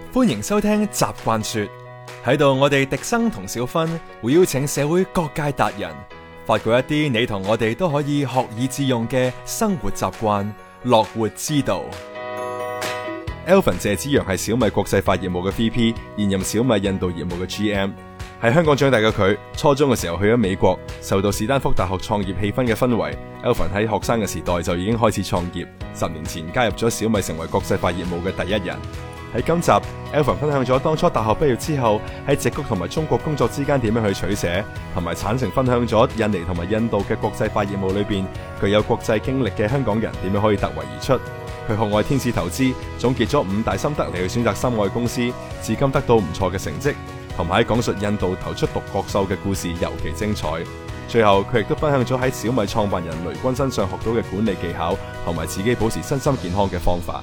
歡迎收聽習慣說，喺度我哋迪生同小芬會邀請社會各界達人，發掘一啲你同我哋都可以學以致用嘅生活習慣、樂活之道。Alvin 謝之陽係小米國際化業務嘅 VP， 現任小米印度業務嘅 GM。喺香港長大嘅佢，初中嘅時候去咗美國，受到史丹福大學創業氣氛嘅氛圍。Alvin 喺學生嘅時代就已經開始創業，10年前加入咗小米，成為國際化業務嘅第一人。喺今集 Alvin 分享咗當初大學畢業之後喺矽谷同埋中國工作之間點樣去取捨，同埋坦誠分享咗印尼同埋印度嘅國際化業務裏邊具有國際經歷嘅香港人點樣可以突圍而出。佢學愛天使投資，總結咗5大心得嚟去選擇心愛公司，至今得到唔錯嘅成績，同埋喺講述印度投出獨角獸嘅故事尤其精彩。最後佢亦都分享咗喺小米創辦人雷軍身上學到嘅管理技巧，同埋自己保持身心健康嘅方法。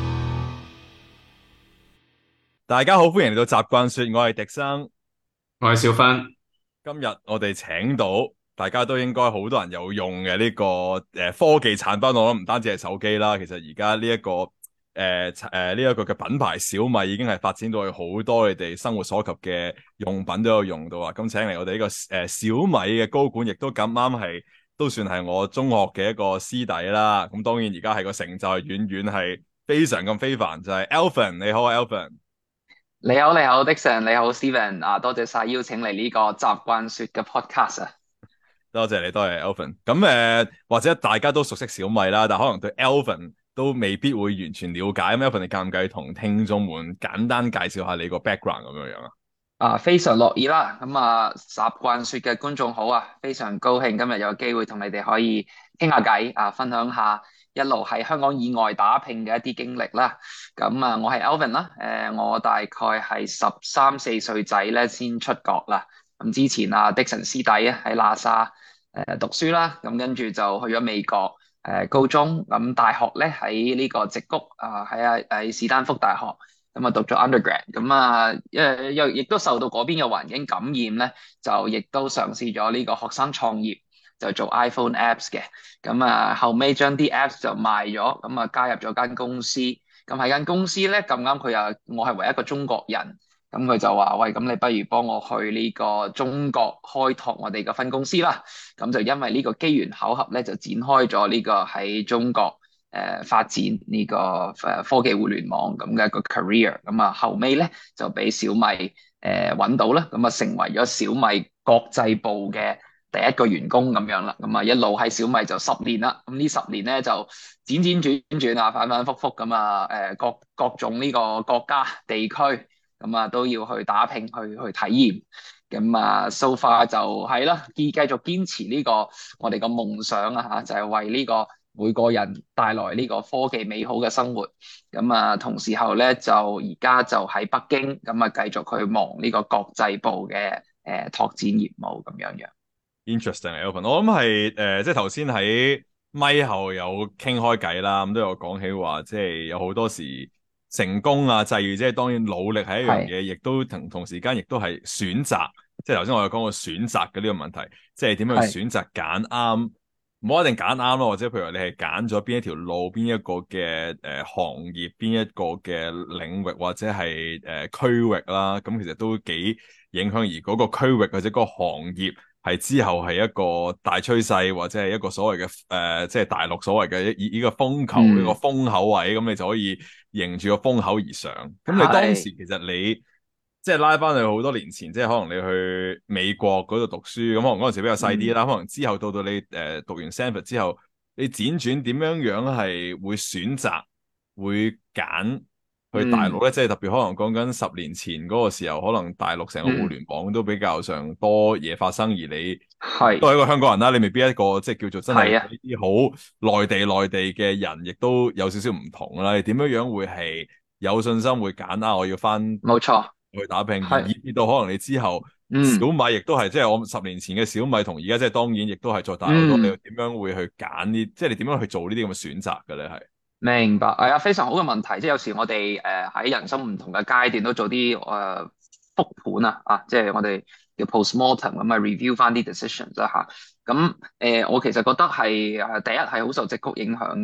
大家好，歡迎嚟到習慣說，我係迪生， 我係小芬。 今日我哋請到大家都應該好多人有用嘅呢個科技產品，我諗唔單止係手機啦，其實而家呢一個呢一個嘅品牌小米已經係發展到去好多你哋生活所及嘅用品都有用到啊！咁請嚟我哋呢個小米嘅高管，亦都咁啱係都算係我中學嘅一個師弟啦。咁當然而家係個成就係遠遠係非常咁非凡，就係 Alvin。你好啊 Alvin。 你好，Dixon，你好，Steven。多謝晒邀請嚟呢個習慣說嘅 podcast 啊。 多謝你，多謝 Alvin。咁或者大家都熟悉小米啦，但可能對 Alvin 都未必會完全了解。咁 Alvin，你介唔介意同聽眾們簡單介紹下你個 background 咁樣啊？ 非常樂意啦。咁習慣說嘅觀眾好啊，非常高興今日有機會同你哋可以傾下偈分享下一路喺香港以外打拼嘅一啲經歷啦。咁我係 Alvin 啦。我大概係13、14歲仔咧先出國啦。咁之前Dixon 師弟喺喇沙讀書啦，咁跟住就去咗美國高中，咁大學咧喺呢個矽谷喺史丹福大學。咁讀咗 undergrad，咁又亦都受到嗰邊嘅環境感染咧，就亦都嘗試咗呢個學生創業，就做 iPhone apps 嘅。咁後尾將啲 apps 就賣咗，咁加入咗間公司。咁喺間公司咧咁啱我係唯一一個中國人，咁佢就話：喂，咁你不如幫我去呢個中國開拓我哋嘅分公司啦。咁就因為呢個機緣巧合咧，就展開咗呢個喺中國發展呢個科技互聯網咁嘅一個 career。咁後尾咧就俾小米揾到啦，咁成為咗小米國際部嘅第一個員工咁樣啦。咁一路喺小米就10年啦。咁呢10年咧就輾轉轉反反覆覆咁各種呢個國家地區咁都要去打拼去體驗。咁so far 就係啦，繼續堅持呢個我哋個夢想就係為呢個每個人帶來呢個科技美好嘅生活。咁同時候咧就而家就喺北京咁繼續去忙呢個國際部嘅拓展業務咁樣。 Interesting，Alvin，我諗係即係頭先喺咪後有傾開偈啦，咁都有講起話，即係有好多時成功際遇，即係當然努力係一樣嘢，亦都同時間亦都係選擇。即係頭先我有講過選擇嘅呢個問題，即係點樣去選擇揀啱，唔好一定揀啱咯，或者譬如話你係揀咗邊一條路、邊一個嘅行業、邊一個嘅領域或者係區域啦，咁其實都幾影響，而嗰個區域或者嗰個行業係之後係一個大趨勢，或者係一個所謂嘅即係大陸所謂嘅呢個風球呢個風口位，咁你就可以迎住個風口而上。咁你當時其實你即係拉翻去好多年前，即係可能你去美國嗰度讀書，咁可能嗰陣時比較細啲啦。可能之後到你讀完 Stanford 之後，你輾轉點樣係會選擇會揀去大陸咧？即係特別可能講緊10年前嗰個時候，可能大陸成個互聯網都比較上多嘢發生，而你都係一個香港人啦，你未必一個即係叫做真係呢啲好內地嘅人，亦都有少少唔同啦。你點樣會係有信心會揀我要翻冇錯去打拼，而以至到可能你之後小米亦都係即係我10年前嘅小米同而家即係當然亦都係再大好多。你點樣會去揀呢？即係你點樣去做呢啲咁嘅選擇嘅咧？係明白，係非常好嘅問題。即係有時我哋喺人生唔同嘅階段都做啲復盤即係我哋叫 postmortem 咁review 翻啲 decisions 啦咁我其實覺得係第一係好受矽谷影響嘅。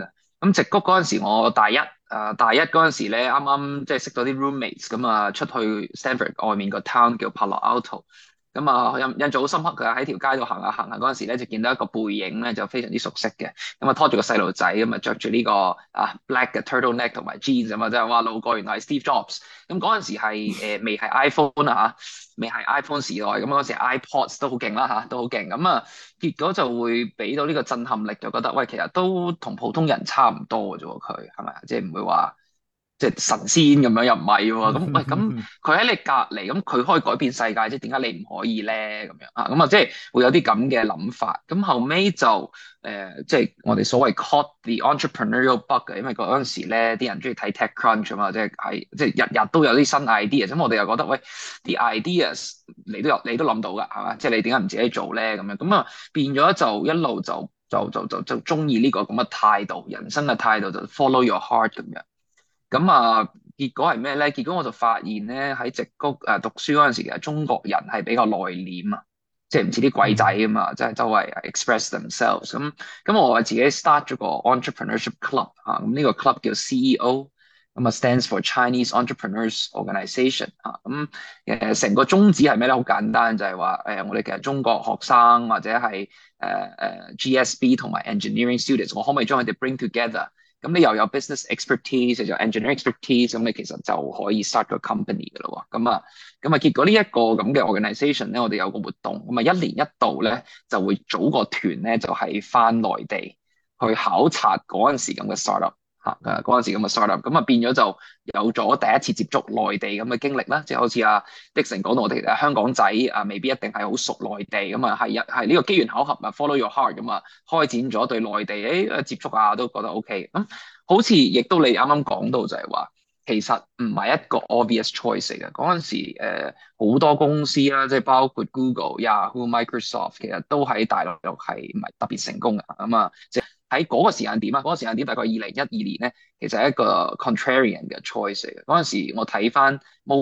咁矽谷嗰陣時，我大一嗰陣時咧，啱啱即係識咗啲 roommates，咁啊出去 Stanford 外面個 town 叫 Palo Alto，咁啊印象好深刻嘅，喺條街度行下嗰陣時咧，就見到一個背影咧，就非常之熟悉嘅，咁啊拖住個細路仔，咁啊着住呢個black 嘅 turtleneck 同埋 jeans 咁啊，即係哇路過原來係 Steve Jobs，咁嗰陣時係未係 iPhone 啊未係 iPhone 時代，咁嗰陣時 iPods 都好勁啦都好勁，咁啊結果就會俾到呢個震撼力，就覺得喂，其實都同普通人差唔多嘅啫喎，佢係咪啊？即係唔會話即係神仙咁樣又唔係喎。咁喂，咁佢喺你隔離，咁佢可以改變世界，即係點解你唔可以咧？咁樣咁啊，即係會有啲咁嘅諗法。咁後尾就即係我哋所謂 caught the entrepreneurial bug 嘅，因為嗰陣時咧啲人中意睇 TechCrunch 啊嘛，即係日日都有啲新 idea，咁我哋又覺得喂啲 ideas 你都諗到㗎，係嘛？即係你點解唔自己做咧？咁啊變咗就一路就中意呢個咁嘅態度，人生嘅態度就 follow your heart 咁樣。咁結果係咩咧？結果我就發現咧，喺矽谷讀書嗰陣時，其實中國人係比較內斂啊，即係唔似啲鬼仔啊嘛，即係周圍 express themselves。咁我自己 start 咗個 entrepreneurship club 咁呢個 club 叫 CEO，咁啊 stands for Chinese Entrepreneurs Organization 成個宗旨係咩咧？好簡單，就係話我哋其實中國學生或者係GSB 同埋 engineering students，我可唔可以將佢哋 bring together？咁你又有 business expertise，又有 engineering expertise，咁你其實就可以 start 個 company 噶咯喎。咁啊，結果呢一個咁嘅 organisation 咧，我哋有個活動，咁啊一年一度咧就會組個團咧，就係翻內地去考察嗰陣時咁嘅 startup 嗰陣時咁嘅 startup，咁啊變咗就有咗第一次接觸內地咁嘅經歷啦，即係好似Dixon 講到我哋香港仔未必一定係好熟內地，咁啊係呢個機緣巧合follow your heart 咁啊，開展咗對內地接觸都覺得 OK，咁好似亦都你啱啱講到就係話，其實唔係一個 obvious choice 嚟嘅，嗰陣時好多公司啦，即係包括 Google、Yahoo、Microsoft，其實都喺大陸係唔係特別成功嘅，咁啊喺嗰個時間點嗰個時間點大概2012年咧，其實係一個 contrarian 嘅 choice 嚟嘅。嗰陣時我睇翻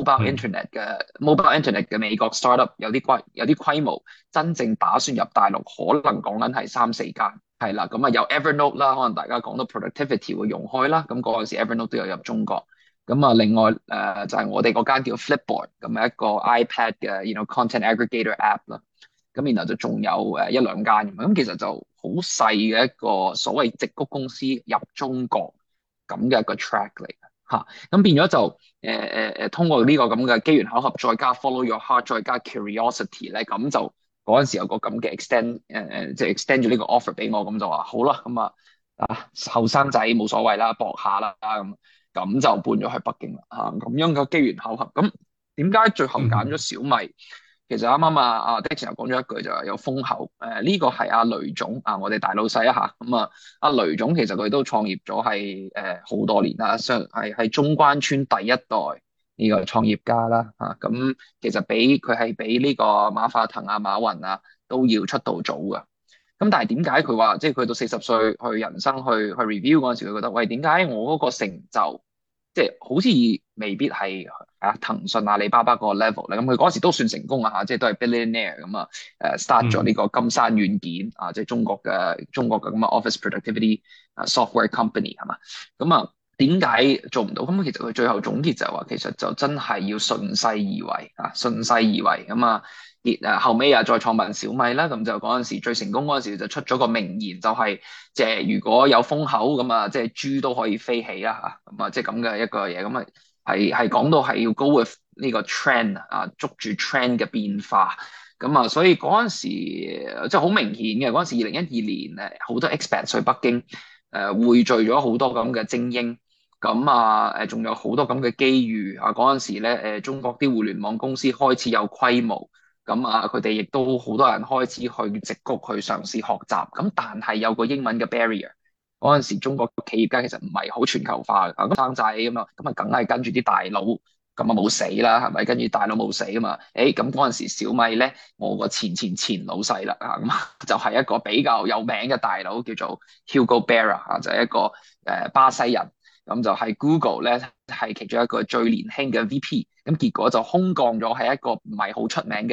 mobile internet 嘅美國 startup 有啲規模，真正打算入大陸，可能講緊係3、4間，係啦。咁有 Evernote 啦，可能大家講到 productivity 會用開啦。咁嗰陣時 Evernote 都有入中國。咁另外就係我哋嗰間叫 Flipboard，咁係一個 iPad 嘅content aggregator app 啦。咁然後就仲有1、2間咁，其實就好細嘅一個所謂矽谷公司入中國咁嘅一個 track 嚟嘅嚇，咁變咗就通過呢個咁嘅機緣巧合，再加 follow your heart，再加 curiosity 咧，咁就嗰陣時有個咁嘅 即係 extend 咗呢個 offer 俾我，咁就話好啦，咁後生仔冇所謂啦，搏下啦咁就搬咗去北京啦咁樣嘅機緣巧合，咁點解最後揀咗小米？其實啱啱Dixon 又講咗一句就係有風口，呢個係雷總我哋大老細咁雷總其實佢都創業咗係好多年啦，係中關村第一代呢個創業家啦咁其實佢係比呢個馬化騰馬雲都要出道早㗎。咁但係點解佢話即係佢到40歲去人生去 review 嗰陣時，佢覺得喂，點解我嗰個成就即係好似未必係騰訊阿里巴巴嗰個 level 咧？咁佢嗰時都算成功即係都係 billionaire 咁start 咗呢個金山軟件即係中國嘅咁office productivity software company 係嘛？咁點解做唔到？咁其實佢最後總結就係話，其實就真係要順勢而為順勢而為後尾再創辦小米啦，咁就嗰陣時最成功嗰陣時就出咗個名言，就係即係如果有風口咁即係豬都可以飛起啦咁即係咁嘅一個嘢，咁係講到係要 go with 呢個 trend 捉住 trend 嘅變化，咁所以嗰陣時即係好明顯嘅，嗰陣時2012年好多 expat 去北京匯聚咗好多咁嘅精英，咁仲有好多咁嘅機遇嗰陣時咧中國啲互聯網公司開始有規模。咁佢哋亦都好多人開始去矽谷去嘗試學習，咁但係有個英文嘅 barrier。嗰陣時中國企業家其實唔係好全球化嘅，咁生仔咁梗係跟住啲大佬，咁冇死啦，係咪？跟住大佬冇死啊嘛，咁嗰陣時小米咧，我個前老細啦咁就係一個比較有名嘅大佬，叫做 Hugo Barra 就係一個巴西人，咁就係 Google 咧係其中一個最年輕嘅 VP，咁結果就空降咗係一個唔係好出名嘅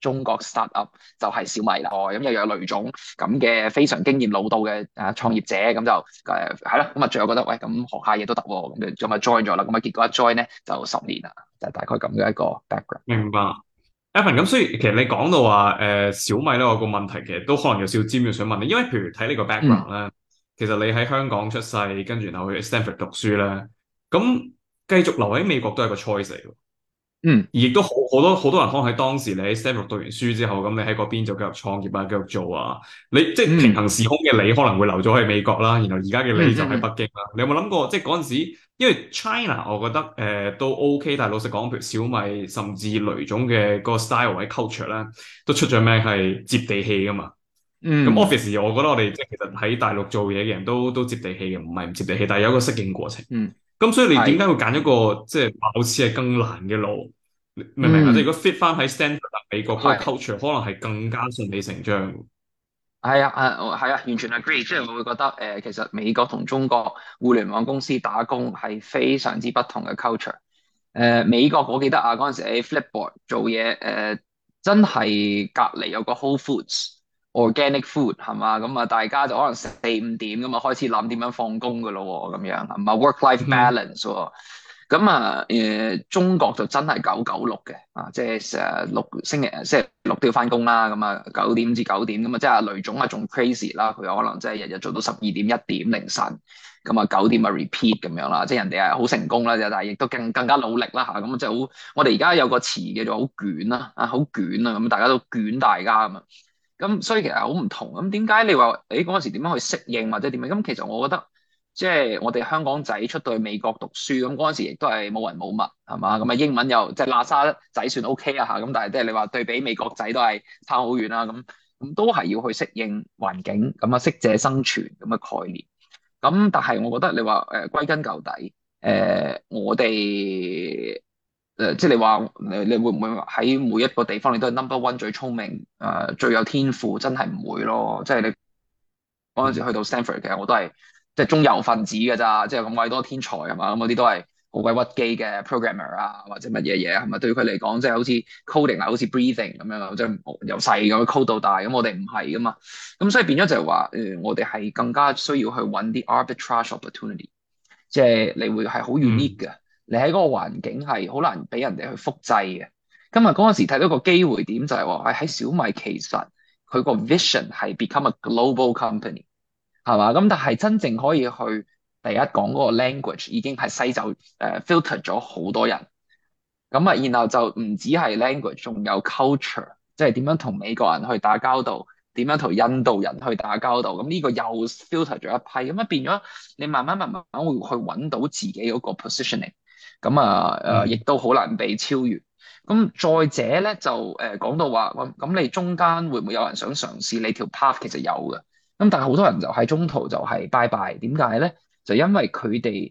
中國 startup 就係小米啦。咁又有雷總咁嘅非常經驗老道嘅創業者，咁就係咯。咁啊，最後覺得喂，咁學下嘢都得喎，咁就咁啊 join 咗啦。咁啊，結果一 join 咧就10年啦，就係大概咁嘅一個 background。 明白，Evan。咁所以其實你講到話小米咧，我個問題其實都可能有少少尖要想問你，因為譬如睇你個 background 咧，其實你喺香港出世，跟住然後去 Stanford 讀書咧，咁繼續留喺美國都係個 choice 嚟嘅。 嗯而亦都好多人可能喺當時你喺 Stanford 讀完書之後，咁你喺嗰邊就繼續創業啊，繼續做啊。你即係平行時空嘅你可能會留咗喺美國啦，然後而家嘅你就喺北京啦。你有冇諗過即係嗰陣時，因為 China 我覺得都 OK，但係老實講，譬如小米甚至雷總嘅嗰個 style 或者 culture 咧，都出咗名係接地氣噶嘛。咁嗯 Office 我覺得我哋即係其實喺大陸做嘢嘅人都接地氣嘅，唔係唔接地氣，但係有一個適應過程。 嗯， 咁所以你點係解會揀一個即係貌似係更難嘅路？明唔明啊？即係嗯如果 fit 翻喺 Stanford 美國嗰個係。 culture，可能係更加順理成章。 係啊，係啊，完全 agree。即係我會覺得，其實美國同中國互聯網公司打工係非常之不同嘅 culture。美國我記得啊，嗰陣時喺 Flipboard 做嘢，真係隔離有個 Whole Foods organic food 係嘛，咁啊大家就可能4、5點咁啊開始諗點樣放工㗎咯喎，咁樣係嘛 work-life 嗯哼 balance 喎。咁啊，中國就真係996嘅，即係成日星期六都要翻工啦，咁啊9點至9點，咁啊即係雷總啊仲 crazy 啦，佢有可能即係日日做到12點1點凌晨，咁啊9點啊 repeat 咁樣啦，即係人哋係好成功啦，但係亦都更加努力啦嚇，咁即係好，我哋而家有個詞叫做好捲啦，好捲啊，咁大家都捲大家咁啊，咁所以其實好唔同，咁點解你話嗰陣時點樣去適應或者點樣？咁其實我覺得。即係我哋香港仔出到去美國讀書，咁嗰陣時亦都係冇人冇物，係嘛？咁啊英文又即係喇沙仔算 OK 啊嚇，咁但係即係你話對比美國仔都係差好遠啦，咁都係要去適應環境，咁啊適者生存咁嘅概念。咁但係我覺得你話歸根究底，我哋即係你話你會唔會喺每一個地方你都係 number one 最聰明最有天賦？真係唔會咯，即係你。嗰陣時去到 Stanford 嘅，我都係即係中游分子嘅咋，即係咁鬼多天才係嘛，咁嗰啲都係好鬼屈機嘅 programmer 啊，或者乜嘢嘢係咪？對於佢嚟講，即係好似 coding 啊，好似 breathing 咁樣，即係由細咁 code 到大，咁我哋唔係噶嘛，咁所以變咗就係話，我哋係更加需要去揾啲 arbitrage opportunity，即係你會係好 unique 嘅，你喺嗰個環境係好難俾人哋去複製嘅。今日嗰陣時睇到個機會點就係話，喺小米其實佢個 vision 係 become a global company。係嘛？咁但係真正可以去第一講嗰個 language 已經係西走filter 咗好多人，咁啊，然後就唔止係 language，仲有 culture，即係點樣同美國人去打交道，點樣同印度人去打交道，咁呢個又 filter 咗一批，咁啊變咗你慢慢會去揾到自己嗰個 positioning，咁啊亦都好難被超越。咁再者咧就講到話咁你中間會唔會有人想嘗試你條 path？其實有嘅。咁但係好多人就喺中途就係拜拜，點解咧？就因為佢哋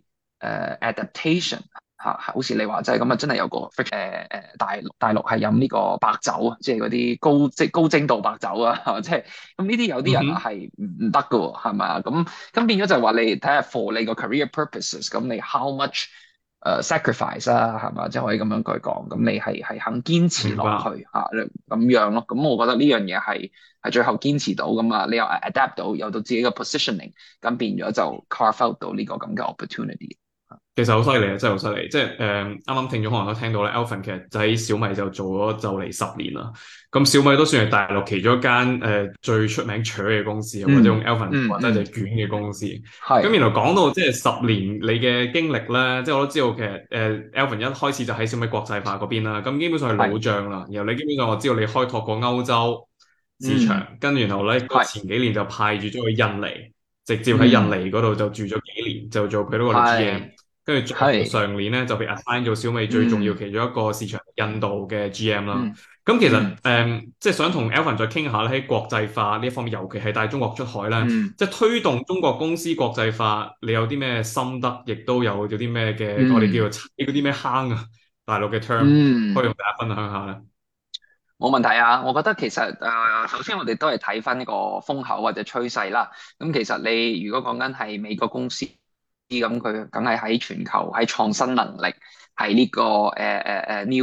adaptation 嚇，好似你話齋咁啊，真係有個大陸係飲呢個白酒啊，即係嗰啲高精度白酒啊，即係咁呢啲有啲人係唔得㗎喎，係咪啊？咁變咗就係話你睇下 for 你個 career purposes，咁你 how much sacrifice 啊，係嘛？即係可以咁樣去講，咁你係肯堅持落去嚇咁樣咯。咁我覺得呢樣嘢係最後堅持到咁啊，你又 adapt 到，有到自己嘅 positioning，咁變咗就 carve out 到呢個咁嘅 opportunity。 其實好犀利啊，真係好犀利！即係啱啱聽眾可能都聽到咧，Alvin 其實就喺小米就做咗就嚟10年啦。咁小米都算係大陸其中一間最出名搶嘅公司，或者用 Alvin 或者就卷嘅公司。咁然後講到即係10年你嘅經歷咧，即係我都知道其實Alvin 一開始就喺小米國際化嗰邊啦。咁基本上係老將啦。然後你基本上我知道你開拓過歐洲市場，跟住然後咧前幾年就派住咗去印尼，直接喺印尼嗰度就住咗幾年，就做佢嗰個 GM。跟住上年咧就被 assign 做小米最重要其中一個市場印度嘅 GM 啦。咁其實即係想同 Alvin 再傾下咧，喺國際化呢一方面，尤其係帶中國出海咧，即係推動中國公司國際化，你有啲咩心得，亦都有啲咩嘅我哋叫做踩嗰啲咩坑啊，大陸嘅 term，可以同大家分享下咧。 冇問題啊！我覺得其實首先我哋都係睇翻呢個風口或者趨勢啦。咁其實你如果講緊係美國公司，咁佢梗係喺全球喺創新能力係呢個new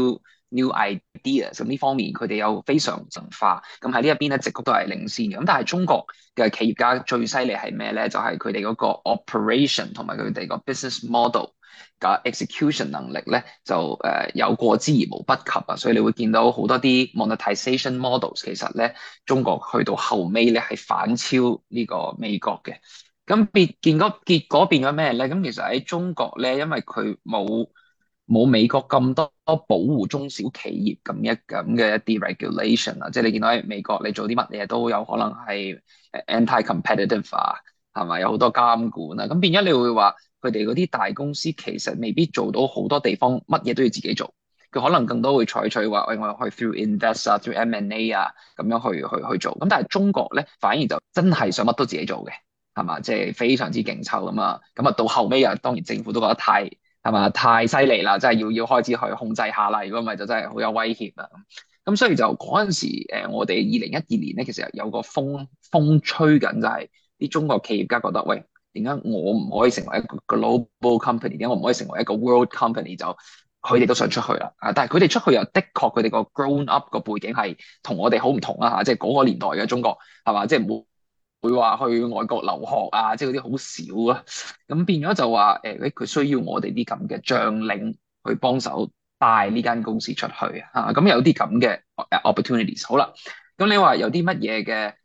new ideas，咁呢方面佢哋有非常文化，咁喺呢一邊咧，矽谷都係領先嘅。咁但係中國嘅企業家最犀利係咩咧？就係佢哋嗰個 operation 同埋佢哋個 business model 嘅 execution 能力咧，就有過之而無不及啊！所以你會見到好多啲 monetization models，其實咧中國去到後尾咧係反超呢個美國嘅。咁結果變咗咩咧？咁其實喺中國咧，因為佢冇美國咁多保護中小企業咁嘅一啲 regulation 啊，即係你見到喺美國你做啲乜嘢都有可能係anti-competitive 啊，係咪有好多監管啊？咁變咗你會話佢哋嗰啲大公司其實未必做到好多地方乜嘢都要自己做，佢可能更多會採取話，喂，我去 through invest 啊，through M&A 啊咁樣去做。咁但係中國咧反而就真係想乜都自己做嘅，係嘛？即係非常之勁抽咁啊！咁啊到後尾啊，當然政府都覺得太犀利啦，真係要開始去控制下啦。如果唔係就真係好有威脅啦。咁所以就嗰陣時，我哋2012年咧，其實有個風吹緊，就係啲中國企業家覺得，喂，點解我唔可以成為一個 global company？點解我唔可以成為一個 world company？就佢哋都想出去啦。但係佢哋出去又的確佢哋個 grown up 個背景係同我哋好唔同啦嚇，即係嗰個年代嘅中國係嘛，即係冇會話去外國留學啊，即係嗰啲好少啊，咁變咗就話佢需要我哋啲咁嘅將領去幫手帶呢間公司出去啊，咁有啲咁嘅 opportunities。好啦，咁你話有啲乜嘢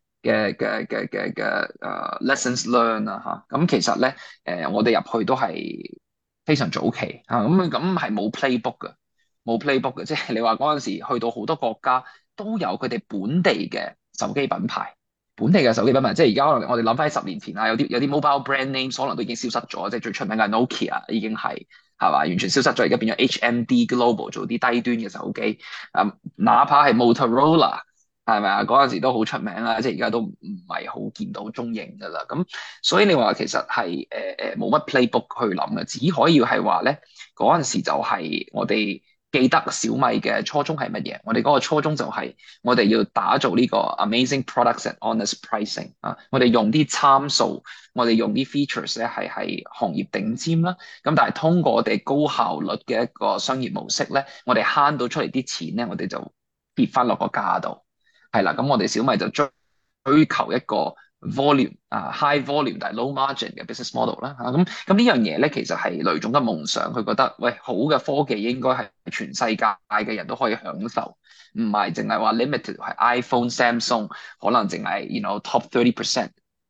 嘅 lessons learn 啊嚇，咁其實咧我哋入去都係非常早期啊，咁係冇 playbook 嘅，冇 playbook 嘅，即係你話嗰陣時去到好多國家都有佢哋本地嘅手機品牌。本地嘅手機品牌，即係而家可能我哋諗翻喺10年前啊，有啲 mobile brand names 可能都已經消失咗，即係最出名嘅 Nokia 已經係嘛完全消失咗，而家變咗 HMD Global 做啲低端嘅手機，哪怕係 Motorola 係咪啊？嗰陣時都好出名啦，即係而家都唔係好見到蹤影㗎啦。咁所以你話其實係冇乜 playbook 去諗嘅，只可以係話咧嗰陣時就係我哋。記得小米嘅初衷係乜嘢？我哋嗰個初衷就係我哋要打造呢個 amazing products at honest pricing 啊！我哋用啲參數，我哋用啲 features 咧係行業頂尖啦。咁但係通過我哋高效率嘅一個商業模式咧，我哋慳到出嚟啲錢咧，我哋就跌翻落個價度。係啦，咁我哋小米就追求一個 volume high volume 但係 low margin 嘅 business model 啦嚇，咁呢樣嘢咧其實係雷總嘅夢想，佢覺得喂好嘅科技應該係全世界嘅人都可以享受，唔係淨係話 limited 係 iPhone、Samsung 可能淨係 top 30%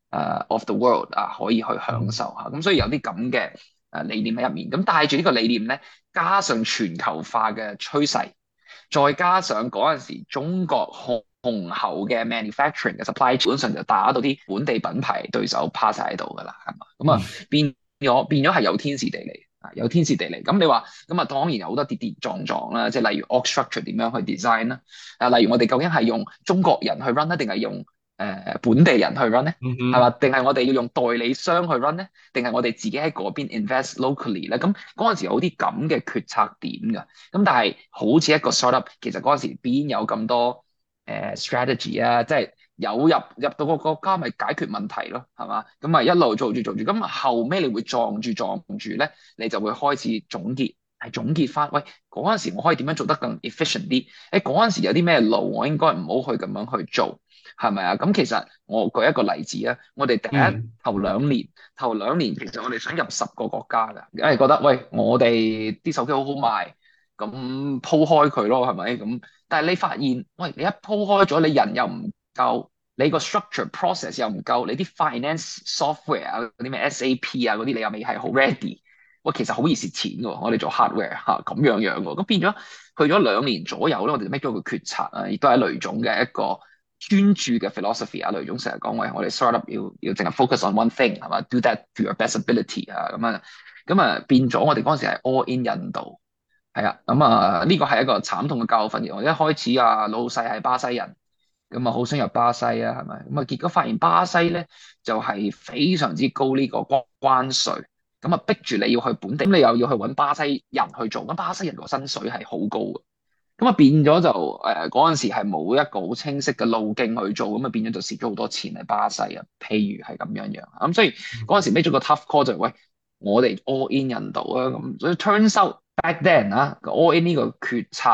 of the world 可以去享受嚇，咁所以有啲咁嘅理念喺入面，咁帶住呢個理念咧，加上全球化嘅趨勢，再加上嗰陣時中國雄厚嘅 manufacturing 嘅 supply， 基本上就打到啲本地品牌對手趴晒喺度㗎啦，係嘛？咁變咗係有天時地利啊，有天時地利。咁你話咁啊，當然有好多跌跌撞撞啦，即係例如 org structure 點樣去 design 啦，例如我哋究竟係用中國人去 run 咧，定係用本地人去 run 咧？係嘛？定係我哋要用代理商去 run 咧？定係我哋自己喺嗰邊 invest locally 咧？咁嗰陣時有啲咁嘅決策點㗎。咁但係好似一個 startup，其實嗰陣時邊有咁多strategy 啊？即係有入到個國家咪解決問題咯，係嘛？咁咪一路做住，咁後尾你會撞住咧，你就會開始總結翻，喂嗰陣時我可以點樣做得更 efficient 啲？嗰陣時有啲咩路我應該唔好去咁樣去做，係咪啊？咁其實我舉一個例子啊，我哋頭兩年其實我哋想入10個國家㗎，因為覺得喂我哋啲手機好好賣，咁鋪開佢咯，係咪咁？但係你發現，喂你一鋪開咗，你人又唔夠，你個 structure process 又唔夠，你啲 finance software 啊嗰啲咩 SAP 啊嗰啲，你又未係好 ready。喂，其實好易蝕錢嘅喎，我哋做 hardware 咁樣喎，咁變咗去咗2年左右咧，我哋 make 咗個決策啊，亦都係雷總嘅一個專注嘅 philosophy 啊。雷總成日講喂，我哋 startup 要淨係 focus on one thing 係嘛，do that to your best ability 啊咁變咗我哋嗰陣時係 all in 印度係啊，呢個係一個慘痛嘅教訓。我一開始老細係巴西人，咁好想入巴西啊，係咪？結果發現巴西咧就係非常之高呢個關稅。咁逼住你要去本地，咁你又要去揾巴西人去做，咁巴西人個薪水係好高嘅，咁變咗就嗰陣時係冇一個好清晰嘅路徑去做，咁變咗就蝕咗好多錢喺巴西啊，譬如係咁樣，咁所以嗰陣時 make 咗個 tough call 就係喂，我哋 all in 印度啊，咁所以 turns out back then all in 呢個決策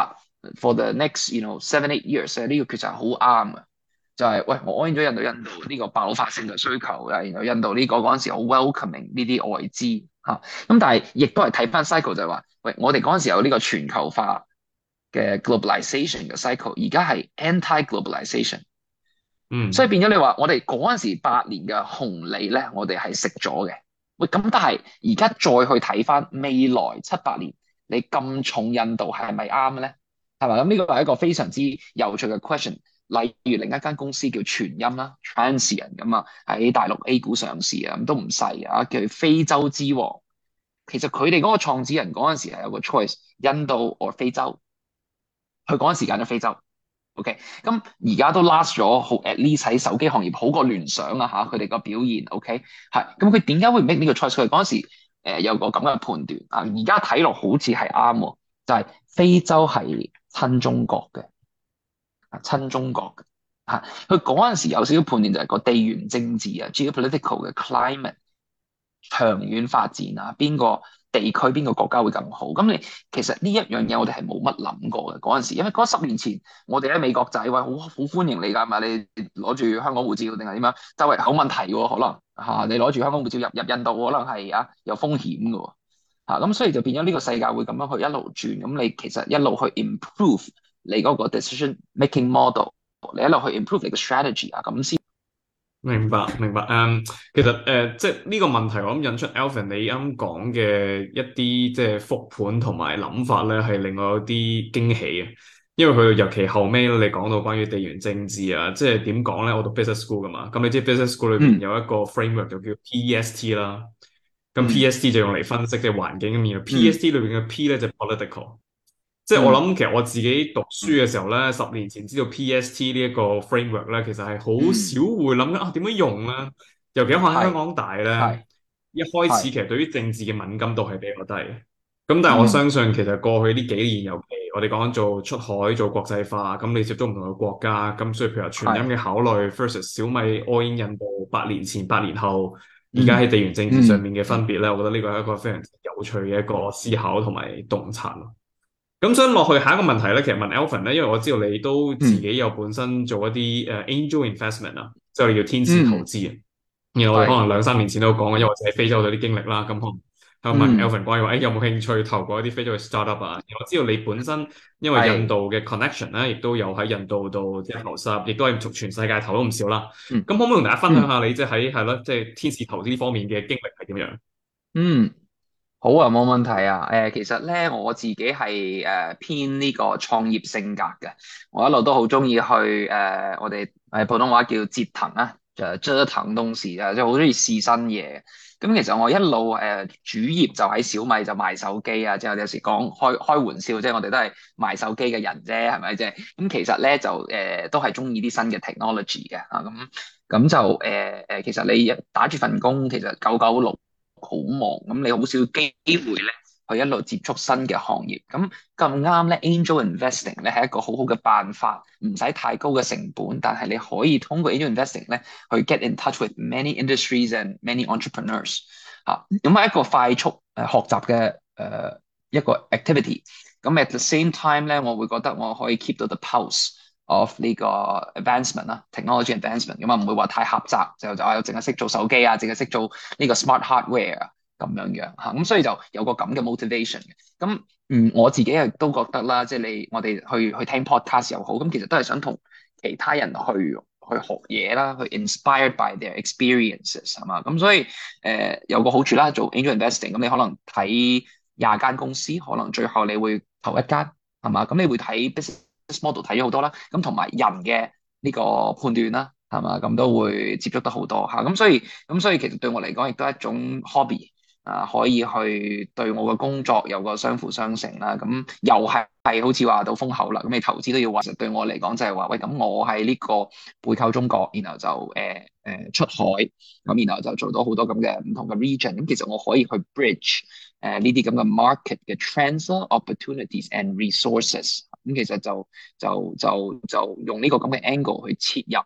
for the next 7-8 years 呢個決策係好啱嘅，就係、喂我應咗印度呢個爆發性嘅需求啊，然後印度呢個嗰陣時好 welcoming 呢啲外資嚇，咁但係亦都係睇翻 cycle 就係話，喂我哋嗰陣時有呢個全球化嘅 globalization 嘅 cycle，而家係 anti-globalization。所以變咗你話我哋嗰陣時8年嘅紅利咧，我哋係食咗嘅。喂，咁但係而家再去睇翻未來7-8年，你咁重印度係咪啱咧？係咪？咁呢個係一個非常之有趣嘅 question。例如另一間公司叫全音啦 Transsion 咁啊，喺大陸 A 股上市啊，咁都唔細啊，叫非洲之王。其實佢哋嗰個創始人嗰陣時係有個 choice，印度或非洲，佢嗰陣時揀咗非洲。OK，咁而家都 last 咗好 at least 喺手機行業好過聯想啊嚇，佢哋個表現 OK 係，咁佢點解會 make 呢個 choice？佢嗰陣時有個咁嘅判斷啊，而家睇落好似係啱喎，就係非洲係親中國嘅，親中國嘅嚇，佢嗰陣時有少少判斷就係個地緣政治啊 geopolitical 嘅 climate 長遠發展啊，邊個地區邊個國家會更好？咁你其實呢一樣嘢我哋係冇乜諗過嘅嗰陣時，因為嗰10年前我哋喺美國仔話好歡迎你㗎嘛，你攞住香港護照定係點樣？周圍有問題喎，可能嚇你攞住香港護照入印度，可能係有風險嘅喎嚇，咁所以就變咗呢個世界會咁樣去一路轉，咁你其實一路去 improve 你嗰個 decision making model，你一路去 improve 你嘅 strategy 啊，咁先。 明白，明白。其實即係呢個問題，我諗引出 Alvin 你啱講嘅一啲即係復盤同埋諗法咧，係令我有啲驚喜嘅。因為佢尤其後尾你講到關於地緣政治啊，即係點講咧？我讀 business school 噶嘛，咁你知 business school 裏邊有一個 framework 就叫 PEST 啦。咁 PEST 就用嚟分析即係環境咁樣，PEST 裏邊嘅 P 咧就 political。即係我諗，其實我自己讀書嘅時候咧，10年前知道 PST 呢一個 framework 咧，其實係好少會諗緊啊點樣用咧。尤其我喺香港大咧，一開始其實對於政治嘅敏感度係比較低。咁但係我相信其實過去呢幾年，尤其我哋講緊做出海、做國際化，咁你接觸唔同嘅國家，咁所以譬如話全音嘅考慮 versus 小米 all in 印度8年前、8年後，而家喺地緣政治上面嘅分別咧，我覺得呢個係一個非常有趣嘅一個思考同埋洞察咯。咁想落去下一個問題咧，其實問 Alvin 咧，因為我知道你都自己有本身做一啲angel investment 啊，即係我哋叫天使投資啊。然後我哋可能2-3年前都講過，因為我自己喺非洲有啲經歷啦，咁可能想問 Alvin 關於話，有冇興趣投過一啲非洲嘅 startup 啊？我知道你本身因為印度嘅 connection 咧，亦都有喺印度度即係投資，亦都係從全世界投咗唔少啦。咁可唔可以同大家分享下你即係喺係咯，即係天使投資呢方面嘅經歷係點樣？ 好啊，冇問題啊。其實咧我自己係偏呢個創業性格嘅，我一路都好中意去我哋普通話叫折騰啊，就折騰東西啊，即係好中意試新嘢。咁其實我一路主業就喺小米就賣手機啊，即係我哋有時講開玩笑，即係我哋都係賣手機嘅人啫，係咪啫？咁其實咧就都係中意啲新嘅 technology 嘅啊，咁就其實你打住份工，其實996。好忙，咁你好少機會咧去一路接觸新嘅行業。咁咁啱咧，angel investing 咧係一個好好嘅辦法，唔使太高嘅成本，但係你可以通過 angel investing 咧去 get in touch with many industries and many entrepreneurs 嚇。咁係一個快速學習嘅一個 activity。咁 at the same time 咧，我會覺得我可以 keep 到 the pulse of 呢個 advancement 啦，technology advancement 咁啊，唔會話太狹窄，就淨係識做手機啊，淨係識做呢個 smart hardware 啊咁樣嚇，咁所以就有個咁嘅 motivation 嘅。咁我自己亦都覺得啦，即係我哋去聽 podcast 又好，咁其實都係想同其他人去學嘢啦，去 inspired by their experiences 係嘛，咁所以有個好處啦，做 angel investing 咁你可能睇20間公司，可能最後你會投一間係嘛，咁你會睇 business model 睇咗好多啦，咁同埋人嘅呢個判斷啦，係嘛，咁都會接觸得好多嚇，咁所以其實對我嚟講亦都係一種 hobby 啊，可以去對我嘅工作有個相輔相成啦，咁又係好似話到風口啦，咁你投資都要話，實對我嚟講就係話，喂，咁我喺呢個背靠中國，然後就出海，咁然後就做到好多咁嘅唔同嘅 region，咁其實我可以去 bridge 呢啲咁嘅 market 嘅 trends opportunities and resources。咁其實就用呢個咁嘅 angle 去切入，